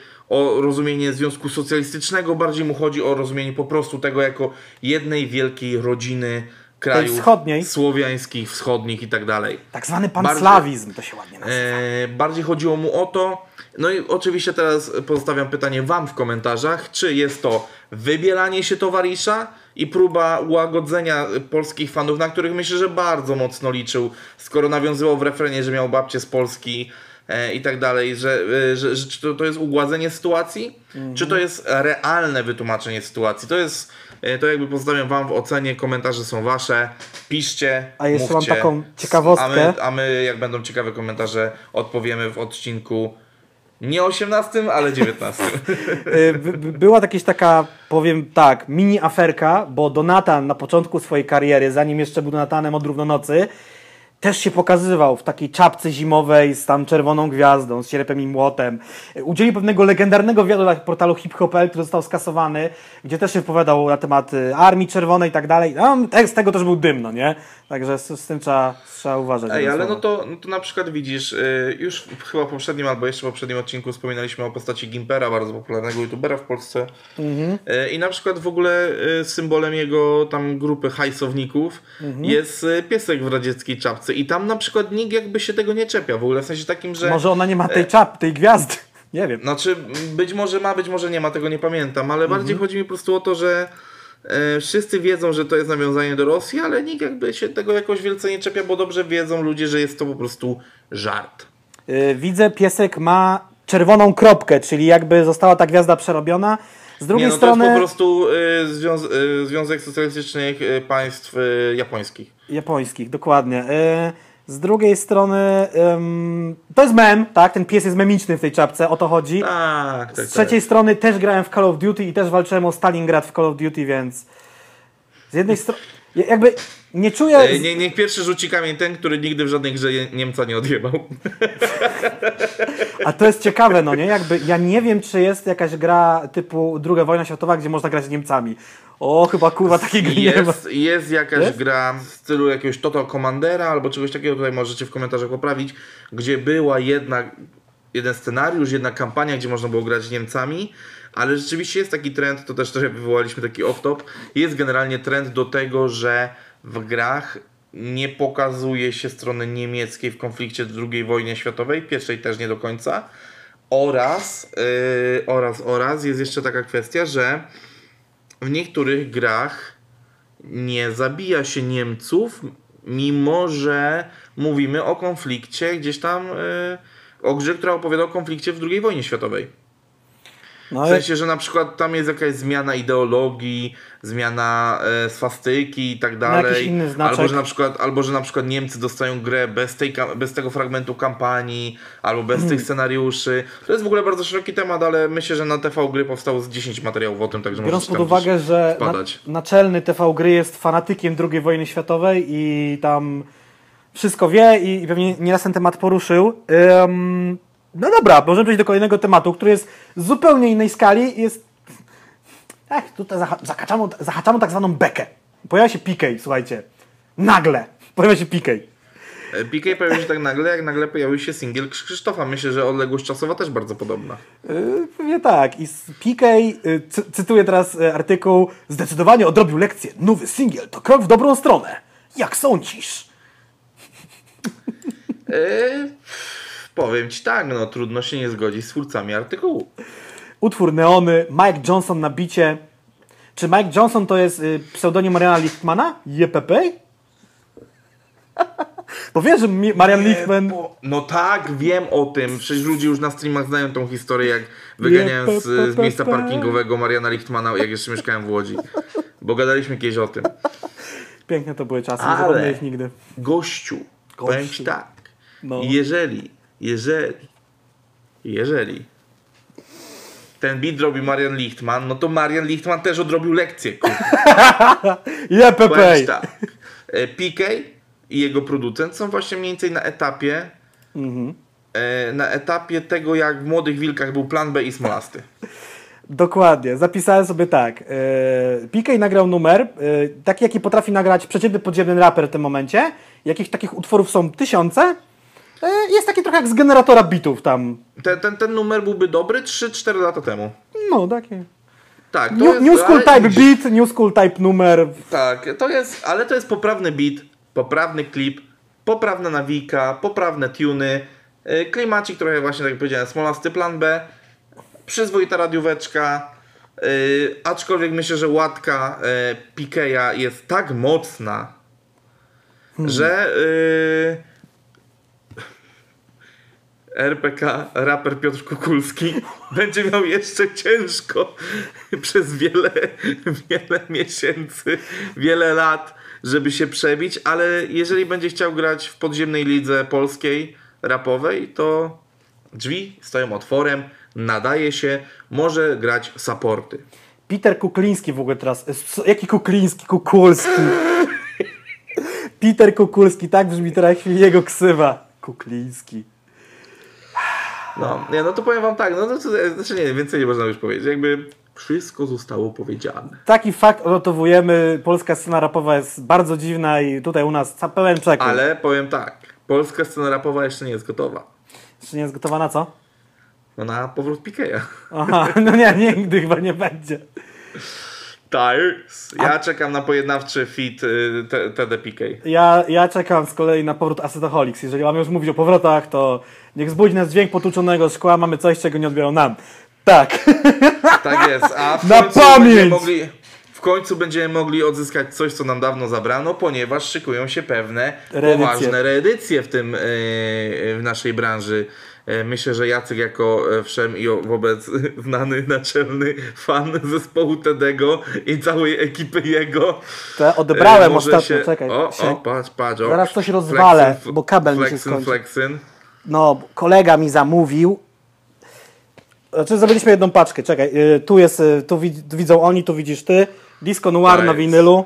o rozumienie związku socjalistycznego, bardziej mu chodzi o rozumienie po prostu tego jako jednej wielkiej rodziny krajów słowiańskich, wschodnich i tak dalej. Tak zwany panslawizm to się ładnie nazywa. Bardziej chodziło mu o to, no i oczywiście teraz pozostawiam pytanie wam w komentarzach, czy jest to wybielanie się towarzysza i próba ułagodzenia polskich fanów, na których myślę, że bardzo mocno liczył, skoro nawiązywał w refrenie, że miał babcię z Polski i tak dalej, czy to jest ugładzenie sytuacji, czy to jest realne wytłumaczenie sytuacji. To jakby pozostawiam wam w ocenie, komentarze są wasze, piszcie, a jeszcze mówcie, mam taką ciekawostkę. A my jak będą ciekawe komentarze, odpowiemy w odcinku nie 18, ale 19. Była jakaś taka, powiem tak, mini aferka, bo Donatan na początku swojej kariery, zanim jeszcze był Donatanem od Równonocy, też się pokazywał w takiej czapce zimowej z tam czerwoną gwiazdą, z sierpem i młotem. Udzielił pewnego legendarnego wywiadu dla portalu hip-hop.pl, który został skasowany, gdzie też się wypowiadał na temat Armii Czerwonej i tak dalej. Z tego też był dym, no nie? Także z tym trzeba uważać. Ale no to na przykład widzisz, już chyba w poprzednim albo jeszcze w poprzednim odcinku wspominaliśmy o postaci Gimpera, bardzo popularnego youtubera w Polsce. I na przykład w ogóle symbolem jego tam grupy hajsowników jest piesek w radzieckiej czapce. I tam na przykład nikt jakby się tego nie czepia w ogóle, w sensie takim, że... Może ona nie ma tej gwiazdy, nie wiem. Znaczy, być może ma, być może nie ma, tego nie pamiętam, ale bardziej chodzi mi po prostu o to, że wszyscy wiedzą, że to jest nawiązanie do Rosji, ale nikt jakby się tego jakoś wielce nie czepia, bo dobrze wiedzą ludzie, że jest to po prostu żart. Widzę, piesek ma czerwoną kropkę, czyli jakby została ta gwiazda przerobiona. Z drugiej strony... To jest po prostu Związek Socjalistycznych Państw Japońskich. Japońskich, dokładnie. Z drugiej strony to jest mem, tak? Ten pies jest memiczny w tej czapce, o to chodzi. Tak. Z trzeciej strony też grałem w Call of Duty i też walczyłem o Stalingrad w Call of Duty, więc z jednej strony jakby nie czuję... Niech pierwszy rzuci kamień ten, który nigdy w żadnej grze Niemca nie odjebał. A to jest ciekawe, no nie? Jakby ja nie wiem, czy jest jakaś gra typu II wojna światowa, gdzie można grać z Niemcami. Chyba kurwa takiej gry nie ma. Jest jakaś gra w stylu jakiegoś Total Commandera albo czegoś takiego, tutaj możecie w komentarzach poprawić, gdzie była jeden scenariusz, jedna kampania, gdzie można było grać z Niemcami, ale rzeczywiście jest taki trend, to też trochę wywołaliśmy taki off-top, jest generalnie trend do tego, że w grach nie pokazuje się strony niemieckiej w konflikcie II wojnie światowej, pierwszej też nie do końca, oraz jest jeszcze taka kwestia, że w niektórych grach nie zabija się Niemców, mimo że mówimy o konflikcie gdzieś tam, o grze, która opowiada o konflikcie w II wojnie światowej. W sensie, że na przykład tam jest jakaś zmiana ideologii, zmiana swastyki i tak dalej. Albo że na przykład Niemcy dostają grę bez tego fragmentu kampanii, albo bez tych scenariuszy. To jest w ogóle bardzo szeroki temat, ale myślę, że na TV Gry powstało z 10 materiałów o tym, także biorąc pod uwagę, że naczelny TV Gry jest fanatykiem II wojny światowej i tam wszystko wie i pewnie nieraz ten temat poruszył. No dobra, możemy przejść do kolejnego tematu, który jest z zupełnie innej skali. Tutaj zahaczamy tak zwaną bekę. Pojawia się PK, słuchajcie. Nagle pojawia się PK. PK pojawił się tak nagle, jak nagle pojawił się singiel Krzysztofa. Myślę, że odległość czasowa też bardzo podobna. Pewnie tak. I PK, cytuję teraz artykuł, zdecydowanie odrobił lekcję. Nowy singiel to krok w dobrą stronę. Jak sądzisz? Powiem ci tak, trudno się nie zgodzić z twórcami artykułu. Utwór Neony, Mike Johnson na bicie. Czy Mike Johnson to jest pseudonim Mariana Lichtmana? JPP? Bo wiesz, że Marian Lichtman... No tak, wiem o tym. Przecież ludzie już na streamach znają tą historię, jak wyganiałem z miejsca parkingowego Mariana Lichtmana, jak jeszcze mieszkałem w Łodzi. Bo gadaliśmy kiedyś o tym. Piękne to były czasy, nie zapomnę ich nigdy. Gościu, powiem ci tak. Jeżeli ten beat robi Marian Lichtman, no to Marian Lichtman też odrobił lekcję. JPP. Tak. PK i jego producent są właśnie mniej więcej na etapie tego, jak w Młodych Wilkach był Plan B i Smolasty. Dokładnie, zapisałem sobie tak. PK nagrał numer, taki jaki potrafi nagrać przeciętny podziemny raper w tym momencie. Jakich takich utworów są tysiące. Jest taki trochę jak z generatora bitów tam. Ten numer byłby dobry 3-4 lata temu. No, taki. Tak, New School Type beat, New School Type numer. Tak, ale to jest poprawny beat, poprawny klip, poprawna nawijka, poprawne tuny, klimacik trochę właśnie, tak jak powiedziałem, Smolasty Plan B, przyzwoita radióweczka, aczkolwiek myślę, że łatka PK'a jest tak mocna, że RPK, raper Piotr Kukulski, będzie miał jeszcze ciężko przez wiele miesięcy, wiele lat, żeby się przebić, ale jeżeli będzie chciał grać w podziemnej lidze polskiej, rapowej, to drzwi stoją otworem, nadaje się, może grać supporty. Peter Kukliński w ogóle teraz. Jaki Kukliński? Kukulski. Peter Kukulski, tak brzmi teraz jego ksywa. Kukliński. No to powiem wam tak, więcej nie można już powiedzieć. Jakby wszystko zostało powiedziane. Taki fakt odnotowujemy. Polska scena rapowa jest bardzo dziwna i tutaj u nas pełen przekrój. Ale powiem tak, polska scena rapowa jeszcze nie jest gotowa. Jeszcze nie jest gotowa na co? No na powrót PK'a. Aha, no nie, nigdy chyba nie będzie. Tak. Ja czekam na pojednawczy feat TD PK. Ja czekam z kolei na powrót Acetoholics. Jeżeli mamy już mówić o powrotach, to niech zbudzi nas dźwięk potłuczonego szkła, mamy coś, czego nie odbiorą nam. Tak. Tak jest. A w końcu będziemy mogli odzyskać coś, co nam dawno zabrano, ponieważ szykują się pewne poważne reedycje w naszej branży. Myślę, że Jacek jako wszem i wobec znany naczelny fan zespołu Tedego i całej ekipy jego. To odebrałem ostatnio, czekaj. Patrz. Zaraz coś rozwalę, bo kabel mi się skończy. Flexyn. No, kolega mi zamówił. Znaczy zrobiliśmy jedną paczkę, czekaj. Tu jest, tu widzą oni, tu widzisz ty. Disco Noir na winylu.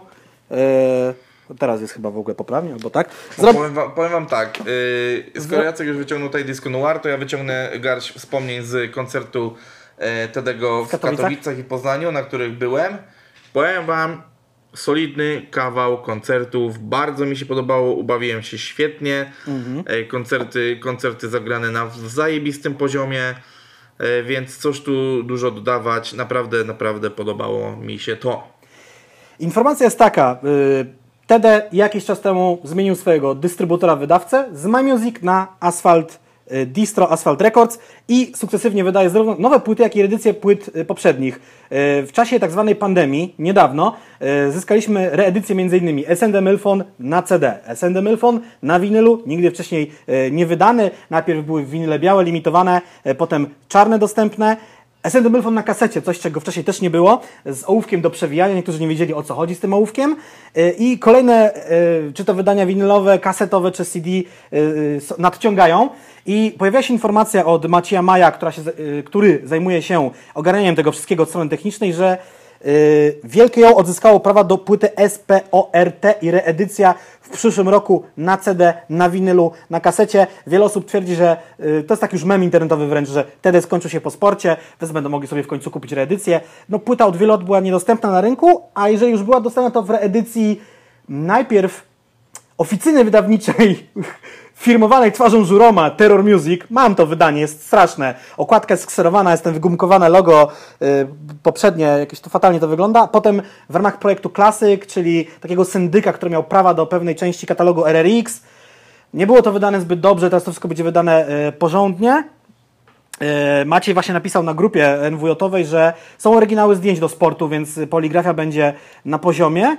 Teraz jest chyba w ogóle poprawnie, albo tak. Powiem wam tak, skoro Jacek już wyciągnął tutaj Disco Noir, to ja wyciągnę garść wspomnień z koncertu Tedego w Katowicach i Poznaniu, na których byłem. Powiem wam, solidny kawał koncertów, bardzo mi się podobało, ubawiłem się świetnie. Koncerty zagrane na zajebistym poziomie, więc cóż tu dużo dodawać, naprawdę podobało mi się to. Informacja jest taka, TD jakiś czas temu zmienił swojego dystrybutora wydawcę z MyMusic na distro Asphalt Records i sukcesywnie wydaje zarówno nowe płyty, jak i edycje płyt poprzednich. W czasie tak zwanej pandemii, niedawno, zyskaliśmy reedycję m.in. S&D Milfon na CD, S&D Milfon na winylu, nigdy wcześniej nie wydany. Najpierw były winyle białe, limitowane, potem czarne dostępne. S&D Milfon na kasecie, coś czego wcześniej też nie było, z ołówkiem do przewijania, niektórzy nie wiedzieli o co chodzi z tym ołówkiem i kolejne, czy to wydania winylowe, kasetowe czy CD nadciągają i pojawiła się informacja od Macieja Maja, który zajmuje się ogarnianiem tego wszystkiego od strony technicznej, że Wielkie Ją odzyskało prawa do płyty SPORT i reedycja w przyszłym roku na CD, na winylu, na kasecie. Wiele osób twierdzi, że to jest tak już mem internetowy wręcz, że TD skończył się po sporcie, więc będą mogli sobie w końcu kupić reedycję. No płyta od wielu lat była niedostępna na rynku, a jeżeli już była dostępna, to w reedycji najpierw oficyny wydawniczej firmowanej twarzą Żuroma, Terror Music. Mam to wydanie, jest straszne. Okładka jest skserowana, jest ten wygumkowane logo poprzednie, jakieś to fatalnie to wygląda. Potem w ramach projektu Classic, czyli takiego syndyka, który miał prawa do pewnej części katalogu RRX. Nie było to wydane zbyt dobrze, teraz to wszystko będzie wydane porządnie. Maciej właśnie napisał na grupie NWJ-owej, że są oryginały zdjęć do sportu, więc poligrafia będzie na poziomie.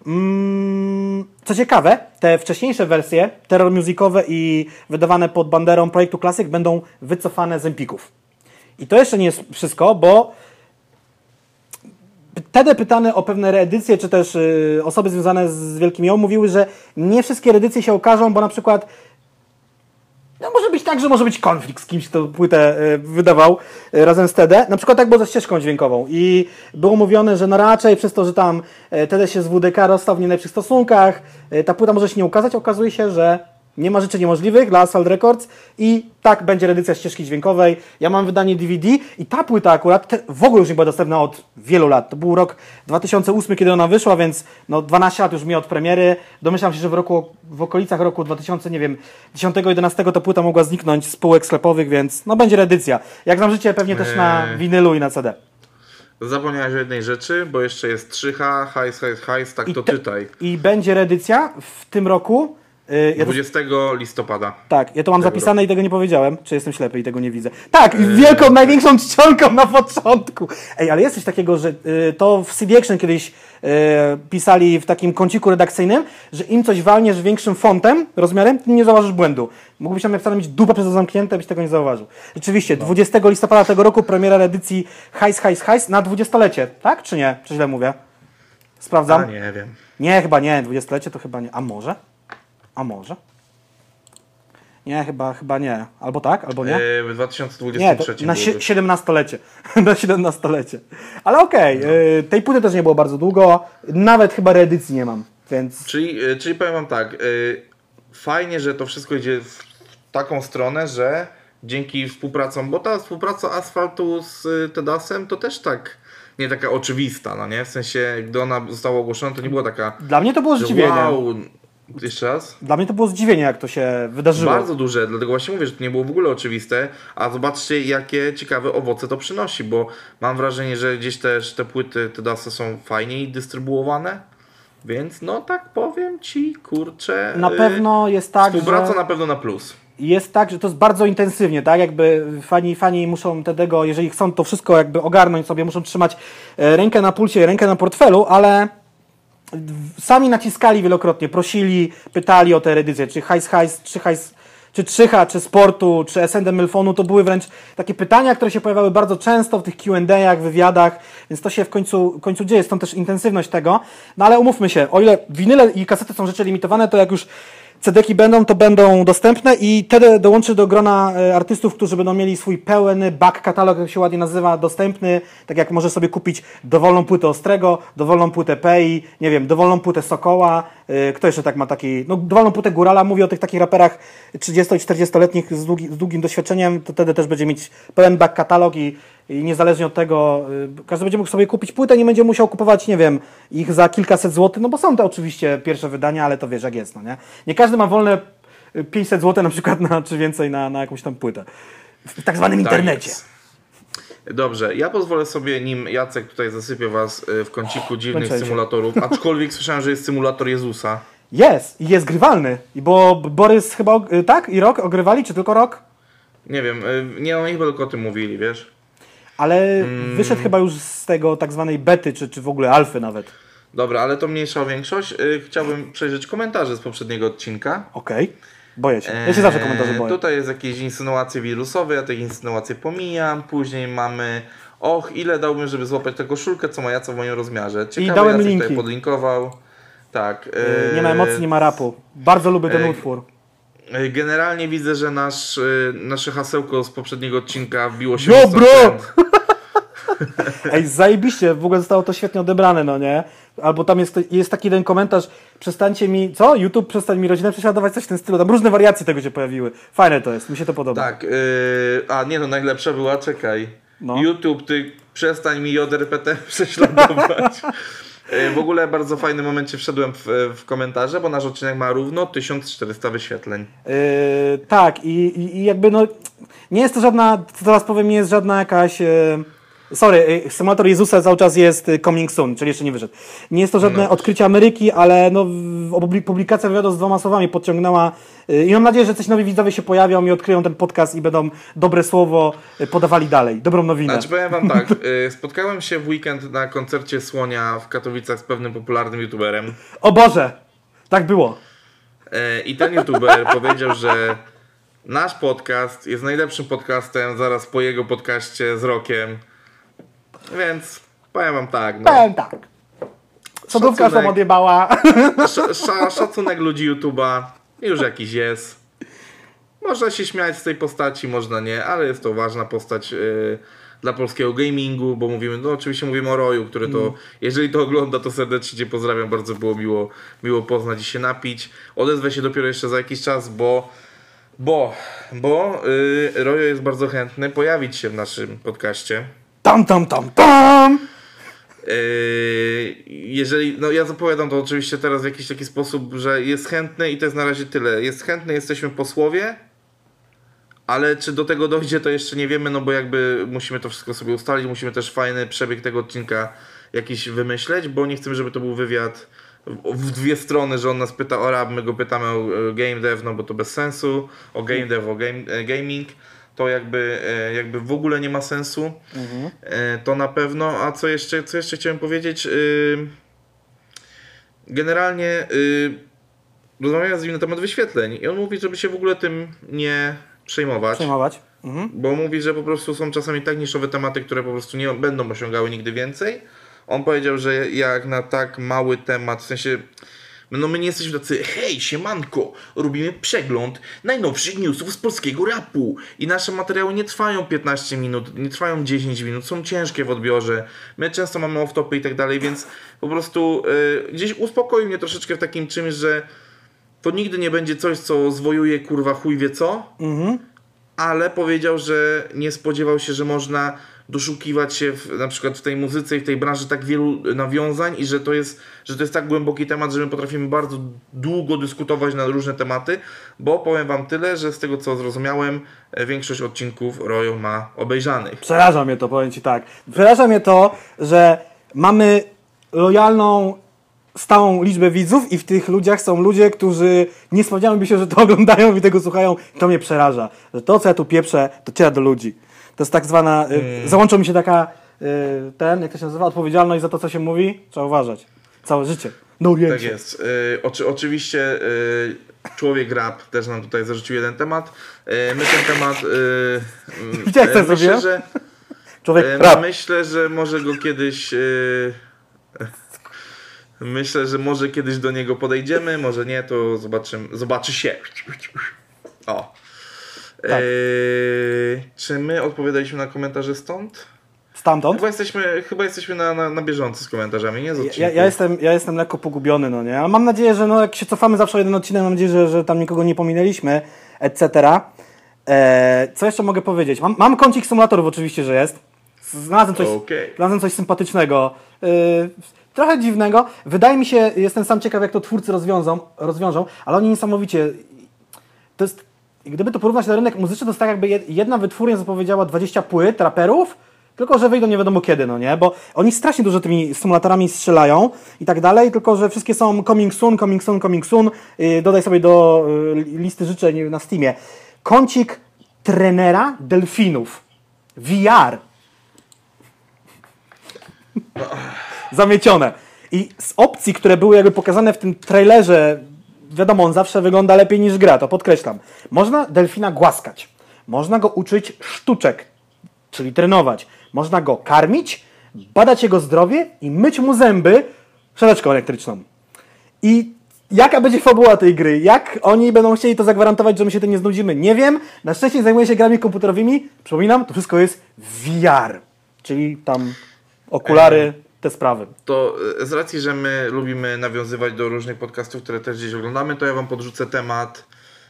Co ciekawe, te wcześniejsze wersje, terror musicowe i wydawane pod banderą projektu Classic będą wycofane z Empików. I to jeszcze nie jest wszystko, bo TD pytany o pewne reedycje, czy też osoby związane z Wielkim Ją mówiły, że nie wszystkie reedycje się okażą, bo na przykład No może być tak, że może być konflikt z kimś, kto płytę wydawał razem z TD. Na przykład tak było ze ścieżką dźwiękową i było mówione, że no raczej przez to, że tam TD się z WDK rozstał w nie najlepszych stosunkach, ta płyta może się nie ukazać. Okazuje się, że nie ma rzeczy niemożliwych dla Asphalt Records i tak będzie reedycja ścieżki dźwiękowej. Ja mam wydanie DVD i ta płyta akurat w ogóle już nie była dostępna od wielu lat. To był rok 2008, kiedy ona wyszła, więc no 12 lat już mi od premiery. Domyślam się, że w okolicach roku 2000, nie wiem, 10-11 ta płyta mogła zniknąć z półek sklepowych, więc no będzie reedycja. Jak znam życie, pewnie też na winylu i na CD. Zapomniałeś o jednej rzeczy, bo jeszcze jest 3H, hajs, tak to czytaj. I będzie reedycja w tym roku. 20 listopada. Tak, ja to mam zapisane i tego nie powiedziałem. Czy jestem ślepy i tego nie widzę? Tak, wielką, największą czcionką na początku. Ej, ale jest coś takiego, że to w CD Action kiedyś pisali w takim kąciku redakcyjnym, że im coś walniesz większym fontem, rozmiarem, tym nie zauważysz błędu. Mógłbyś tam napisane mieć dupę przez to zamknięte, byś tego nie zauważył. Rzeczywiście, 20 listopada tego roku premiera edycji Hajs na 20-lecie, tak? Czy nie? Czy źle mówię? Sprawdzam. Nie wiem. Nie, chyba nie. 20-lecie to chyba nie. A może? A może? Nie, chyba nie. Albo tak, albo nie. W 2023 nie, na 17-lecie. Na 17-lecie. Ale okej, tej płyty też nie było bardzo długo. Nawet chyba reedycji nie mam, więc... Czyli powiem wam tak, fajnie, że to wszystko idzie w taką stronę, że dzięki współpracom, bo ta współpraca Asfaltu z Tedasem to też tak nie taka oczywista, no nie? W sensie, gdy ona została ogłoszona, to nie była taka... Dla mnie to było zdziwienie. Wow, jeszcze raz? Dla mnie to było zdziwienie, jak to się wydarzyło. Bardzo duże, dlatego właśnie mówię, że to nie było w ogóle oczywiste, a zobaczcie, jakie ciekawe owoce to przynosi, bo mam wrażenie, że gdzieś też te płyty Tedasy są fajniej dystrybuowane, więc no tak powiem ci, kurczę... Na pewno jest tak, współpraca na pewno na plus. Jest tak, że to jest bardzo intensywnie, tak? Jakby fani muszą tego, jeżeli chcą to wszystko jakby ogarnąć sobie, muszą trzymać rękę na pulsie, rękę na portfelu, ale sami naciskali wielokrotnie, prosili, pytali o te edycje, czy czy 3H, czy Sportu, czy SND Mylfonu, to były wręcz takie pytania, które się pojawiały bardzo często w tych Q&A'ach, wywiadach, więc to się w końcu dzieje, stąd też intensywność tego. No ale umówmy się, o ile winyle i kasety są rzeczy limitowane, to jak już CD-ki będą, to będą dostępne i wtedy dołączy do grona artystów, którzy będą mieli swój pełny back katalog, jak się ładnie nazywa, dostępny, tak jak możesz sobie kupić dowolną płytę Ostrego, dowolną płytę Pei, nie wiem, dowolną płytę Sokoła, kto jeszcze tak ma taki, no dowolną płytę Górala, mówię o tych takich raperach 30- i 40-letnich z długim doświadczeniem, to wtedy też będzie mieć pełen back katalog i niezależnie od tego, każdy będzie mógł sobie kupić płytę, nie będzie musiał kupować, nie wiem, ich za kilkaset złotych, no bo są to oczywiście pierwsze wydania, ale to wiesz jak jest, no nie? Nie każdy ma wolne 500 zł na przykład czy więcej na jakąś tam płytę. W tak zwanym internecie. Jest. Dobrze, ja pozwolę sobie, nim Jacek tutaj zasypie was w kąciku dziwnych symulatorów, aczkolwiek słyszałem, że jest symulator Jezusa. Jest i jest grywalny, bo Borys chyba, tak? I Rok ogrywali, czy tylko Rok? Nie wiem, nie oni chyba tylko o tym mówili, wiesz? Ale wyszedł chyba już z tego tak zwanej bety, czy w ogóle alfy nawet. Dobra, ale to mniejsza o większość. Chciałbym przejrzeć komentarze z poprzedniego odcinka. Okej, boję się. Ja się zawsze komentarze boję. Tutaj jest jakieś insynuacje wirusowe, ja te insynuacje pomijam. Później mamy, ile dałbym, żeby złapać tę koszulkę, co ma Jaca w moim rozmiarze. Ciekawe, i dałem Jacek linki. Tutaj podlinkował. Tak. Nie ma emocji, nie ma rapu. Bardzo lubię ten utwór. Generalnie widzę, że nasze hasełko z poprzedniego odcinka wbiło się Yo, bro! Ej, zajebiście, w ogóle zostało to świetnie odebrane, no nie? Albo tam jest taki jeden komentarz, przestańcie mi, co? YouTube przestań mi rodzinę prześladować, coś w tym stylu. Tam różne wariacje tego się pojawiły. Fajne to jest, mi się to podoba. Tak, najlepsza była, czekaj. No. YouTube, ty przestań mi JRPT prześladować. W ogóle bardzo fajnym momencie wszedłem w komentarze, bo nasz odcinek ma równo 1400 wyświetleń. Tak, i jakby no, nie jest to żadna, co teraz powiem, nie jest żadna jakaś... symulator Jezusa cały czas jest coming soon, czyli jeszcze nie wyszedł. Nie jest to żadne odkrycie Ameryki, ale no, publikacja wywiadu z 2 słowami podciągnęła i mam nadzieję, że coś nowi widzowie się pojawią i odkryją ten podcast i będą dobre słowo podawali dalej, dobrą nowinę. Znaczy powiem wam tak, spotkałem się w weekend na koncercie Słonia w Katowicach z pewnym popularnym youtuberem. O Boże, tak było. I ten youtuber powiedział, że nasz podcast jest najlepszym podcastem zaraz po jego podcaście z Rokiem. Więc powiem wam tak. No. Powiem tak. Sodówka sam odjebała. Szacunek ludzi YouTube'a już jakiś jest. Można się śmiać z tej postaci, można nie, ale jest to ważna postać dla polskiego gamingu, bo mówimy, no oczywiście mówimy o Roju, który to, jeżeli to ogląda, to serdecznie Cię pozdrawiam, bardzo było miło poznać i się napić. Odezwę się dopiero jeszcze za jakiś czas, bo Rojo jest bardzo chętny pojawić się w naszym podcaście. Tam! Jeżeli, no ja zapowiadam to oczywiście teraz w jakiś taki sposób, że jest chętny i to jest na razie tyle. Jest chętny, jesteśmy posłowie, ale czy do tego dojdzie, to jeszcze nie wiemy, no bo jakby musimy to wszystko sobie ustalić, musimy też fajny przebieg tego odcinka jakiś wymyśleć, bo nie chcemy, żeby to był wywiad w dwie strony, że on nas pyta o rap, my go pytamy o game dev, no bo to bez sensu, o game dev, o gaming. To jakby w ogóle nie ma sensu. To na pewno. A co jeszcze chciałem powiedzieć? Generalnie rozmawiałem z nim na temat wyświetleń i on mówi, żeby się w ogóle tym nie przejmować. Bo mówi, że po prostu są czasami tak niszowe tematy, które po prostu nie będą osiągały nigdy więcej. On powiedział, że jak na tak mały temat, w sensie no my nie jesteśmy tacy, hej, siemanko, robimy przegląd najnowszych newsów z polskiego rapu i nasze materiały nie trwają 15 minut, nie trwają 10 minut, są ciężkie w odbiorze, my często mamy off-topy i tak dalej, więc po prostu gdzieś uspokoi mnie troszeczkę w takim czymś, że to nigdy nie będzie coś, co zwojuje kurwa chuj wie co, ale powiedział, że nie spodziewał się, że można doszukiwać się na przykład w tej muzyce i w tej branży tak wielu nawiązań i że to jest tak głęboki temat, że my potrafimy bardzo długo dyskutować na różne tematy, bo powiem wam tyle, że z tego co zrozumiałem, większość odcinków Rojo ma obejrzanych. Przeraża mnie to, powiem Ci tak. Przeraża mnie to, że mamy lojalną, stałą liczbę widzów i w tych ludziach są ludzie, którzy nie spodziewaliby się, że to oglądają i tego słuchają. To mnie przeraża, że to, co ja tu pieprzę, dociera do ludzi. To jest tak zwana, załączyła mi się taka, jak to się nazywa, odpowiedzialność za to, co się mówi. Trzeba uważać. Całe życie. No tak jest. Oczywiście człowiek rap też nam tutaj zarzucił jeden temat. My ten temat myślę, że człowiek rap. Myślę, że może go kiedyś myślę, że może kiedyś do niego podejdziemy, może nie, to zobaczy się. O. Tak. Czy my odpowiadaliśmy na komentarze stąd? Stamtąd? Chyba jesteśmy na bieżąco z komentarzami, nie? Ja jestem lekko pogubiony, no nie? Ale mam nadzieję, że jak się cofamy zawsze o jeden odcinek, mam nadzieję, że tam nikogo nie pominęliśmy, etc. Co jeszcze mogę powiedzieć? Mam kącik symulatorów oczywiście, że jest. Znalazłem coś sympatycznego. Trochę dziwnego. Wydaje mi się, jestem sam ciekaw, jak to twórcy rozwiążą, ale oni niesamowicie... To jest... Gdyby to porównać na rynek muzyczny, to jest tak jakby jedna wytwórnia zapowiedziała 20 płyt raperów, tylko że wyjdą nie wiadomo kiedy, no nie? Bo oni strasznie dużo tymi symulatorami strzelają i tak dalej, tylko że wszystkie są coming soon. Dodaj sobie do listy życzeń na Steamie. Kącik trenera delfinów. VR. Zamiecione. I z opcji, które były jakby pokazane w tym trailerze, wiadomo, on zawsze wygląda lepiej niż gra, to podkreślam. Można delfina głaskać, można go uczyć sztuczek, czyli trenować, można go karmić, badać jego zdrowie i myć mu zęby szczoteczką elektryczną. I jaka będzie fabuła tej gry? Jak oni będą chcieli to zagwarantować, że my się tym nie znudzimy? Nie wiem. Na szczęście zajmuję się grami komputerowymi. Przypominam, to wszystko jest VR, czyli tam okulary, te sprawy. To z racji, że my lubimy nawiązywać do różnych podcastów, które też gdzieś oglądamy, to ja wam podrzucę temat.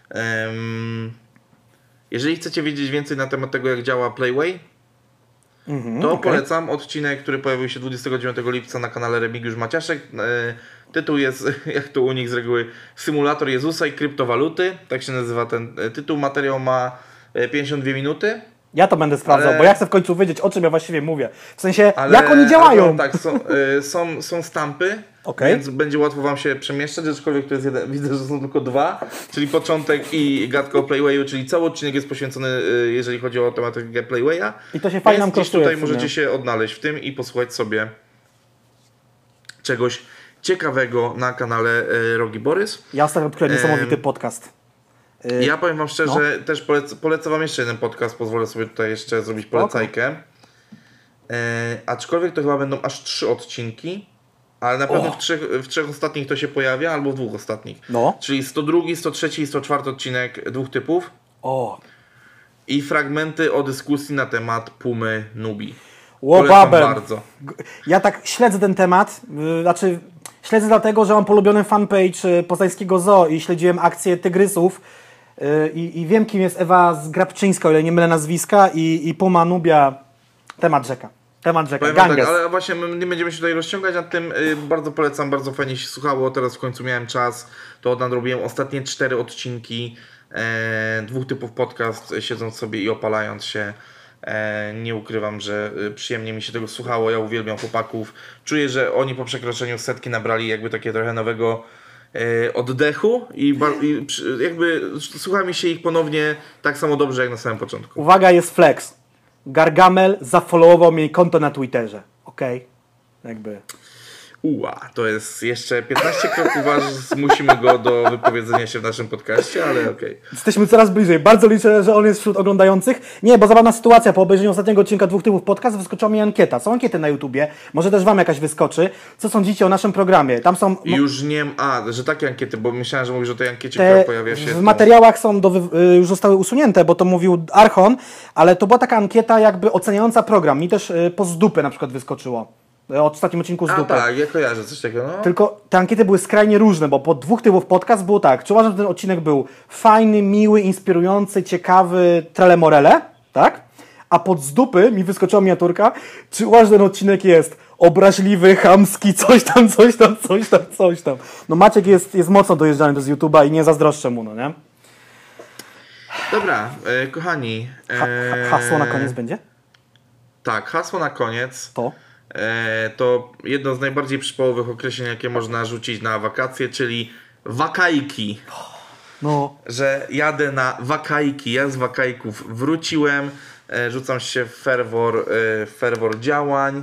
Jeżeli chcecie wiedzieć więcej na temat tego, jak działa Playway, to polecam odcinek, który pojawił się 29 lipca na kanale Remigiusz Maciaszek. Tytuł jest, jak to u nich z reguły, Symulator Jezusa i kryptowaluty. Tak się nazywa ten tytuł. Materiał ma 52 minuty. Ja to będę sprawdzał, bo ja chcę w końcu wiedzieć, o czym ja właściwie mówię. W sensie, jak oni działają. Tak, są stampy, więc będzie łatwo wam się przemieszczać, aczkolwiek to jest jeden, widzę, że są tylko dwa, czyli początek i gadka o Playwayu, czyli cały odcinek jest poświęcony, jeżeli chodzi o tematykę Playwaya. I to się fajnie nam kosztuje. Tutaj możecie się odnaleźć w tym i posłuchać sobie czegoś ciekawego na kanale Rogi Borys. Ja ostatnio odkryłem niesamowity podcast. Ja powiem wam szczerze, też polecę wam jeszcze jeden podcast, pozwolę sobie tutaj jeszcze zrobić polecajkę. Aczkolwiek to chyba będą aż 3 odcinki, ale na pewno w trzech ostatnich to się pojawia, albo w 2 ostatnich. Czyli 102, 103 i 104 odcinek 2 typów. O, I fragmenty o dyskusji na temat Pumy Nubi. łobabem. Polecam bardzo. Ja tak śledzę ten temat, znaczy śledzę dlatego, że mam polubiony fanpage poznańskiego zoo i śledziłem akcję tygrysów i wiem, kim jest Ewa Zgrabczyńska, o ile nie mylę nazwiska, i Puma Nubia. Temat rzeka. Powiem wam tak, ale właśnie my nie będziemy się tutaj rozciągać nad tym. Bardzo polecam, bardzo fajnie się słuchało. Teraz w końcu miałem czas, to nadrobiłem ostatnie 4 odcinki. 2 typów podcast, siedząc sobie i opalając się. Nie ukrywam, że przyjemnie mi się tego słuchało. Ja uwielbiam chłopaków. Czuję, że oni po przekroczeniu 100 nabrali jakby takie trochę nowego oddechu i jakby słucha mi się ich ponownie tak samo dobrze jak na samym początku. Uwaga, jest flex. Gargamel zafollowował mi konto na Twitterze. Okej? Jakby... To jest jeszcze 15 kroków, aż zmusimy go do wypowiedzenia się w naszym podcaście, ale okej. Jesteśmy coraz bliżej. Bardzo liczę, że on jest wśród oglądających. Nie, bo zabawna sytuacja. Po obejrzeniu ostatniego odcinka 2 typów podcast wyskoczyła mi ankieta. Są ankiety na YouTubie. Może też wam jakaś wyskoczy. Co sądzicie o naszym programie? Tam są... Już nie... że takie ankiety, bo myślałem, że mówisz o tej ankiecie, która pojawia się... W materiałach są już zostały usunięte, bo to mówił Archon, ale to była taka ankieta jakby oceniająca program. Mi też po z dupy na przykład wyskoczyło. O ostatnim odcinku z dupy. Tak, ja kojarzę coś takiego, no. Tylko te ankiety były skrajnie różne, bo po 2 typów podcast było tak. Czy uważam, że ten odcinek był fajny, miły, inspirujący, ciekawy, trelemorele, tak? A pod z dupy mi wyskoczyła miniaturka. Czy uważasz, że ten odcinek jest obraźliwy, chamski, coś tam. No Maciek jest mocno dojeżdżany do YouTube'a i nie zazdroszczę mu, no nie? Dobra, kochani. Hasło na koniec będzie? Tak, hasło na koniec. To jedno z najbardziej przypałowych określeń, jakie można rzucić na wakacje, czyli wakajki. No. Że jadę na wakajki, ja z wakajków wróciłem, rzucam się w ferwor działań.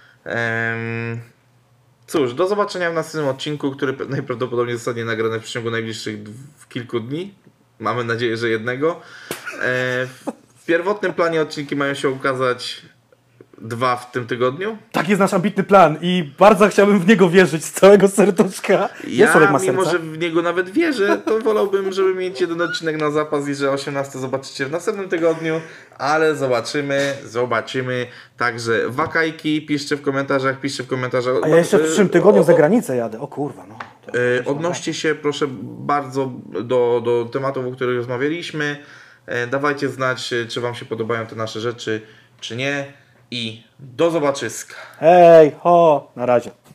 Cóż, do zobaczenia w następnym odcinku, który najprawdopodobniej zostanie nagrany w przeciągu najbliższych kilku dni. Mamy nadzieję, że jednego. W pierwotnym planie odcinki mają się ukazać 2 w tym tygodniu. Tak jest nasz ambitny plan i bardzo chciałbym w niego wierzyć z całego serduszka. Mimo że w niego nawet wierzę, to wolałbym, żeby mieć jeden odcinek na zapas i że 18 zobaczycie w następnym tygodniu, ale zobaczymy. Także wakajki, piszcie w komentarzach. A ja jeszcze w przyszłym tygodniu za granicę jadę. O kurwa, no. Odnoście się proszę bardzo do tematów, o których rozmawialiśmy. Dawajcie znać, czy wam się podobają te nasze rzeczy, czy nie. I do zobaczyska. Hej, ho, na razie.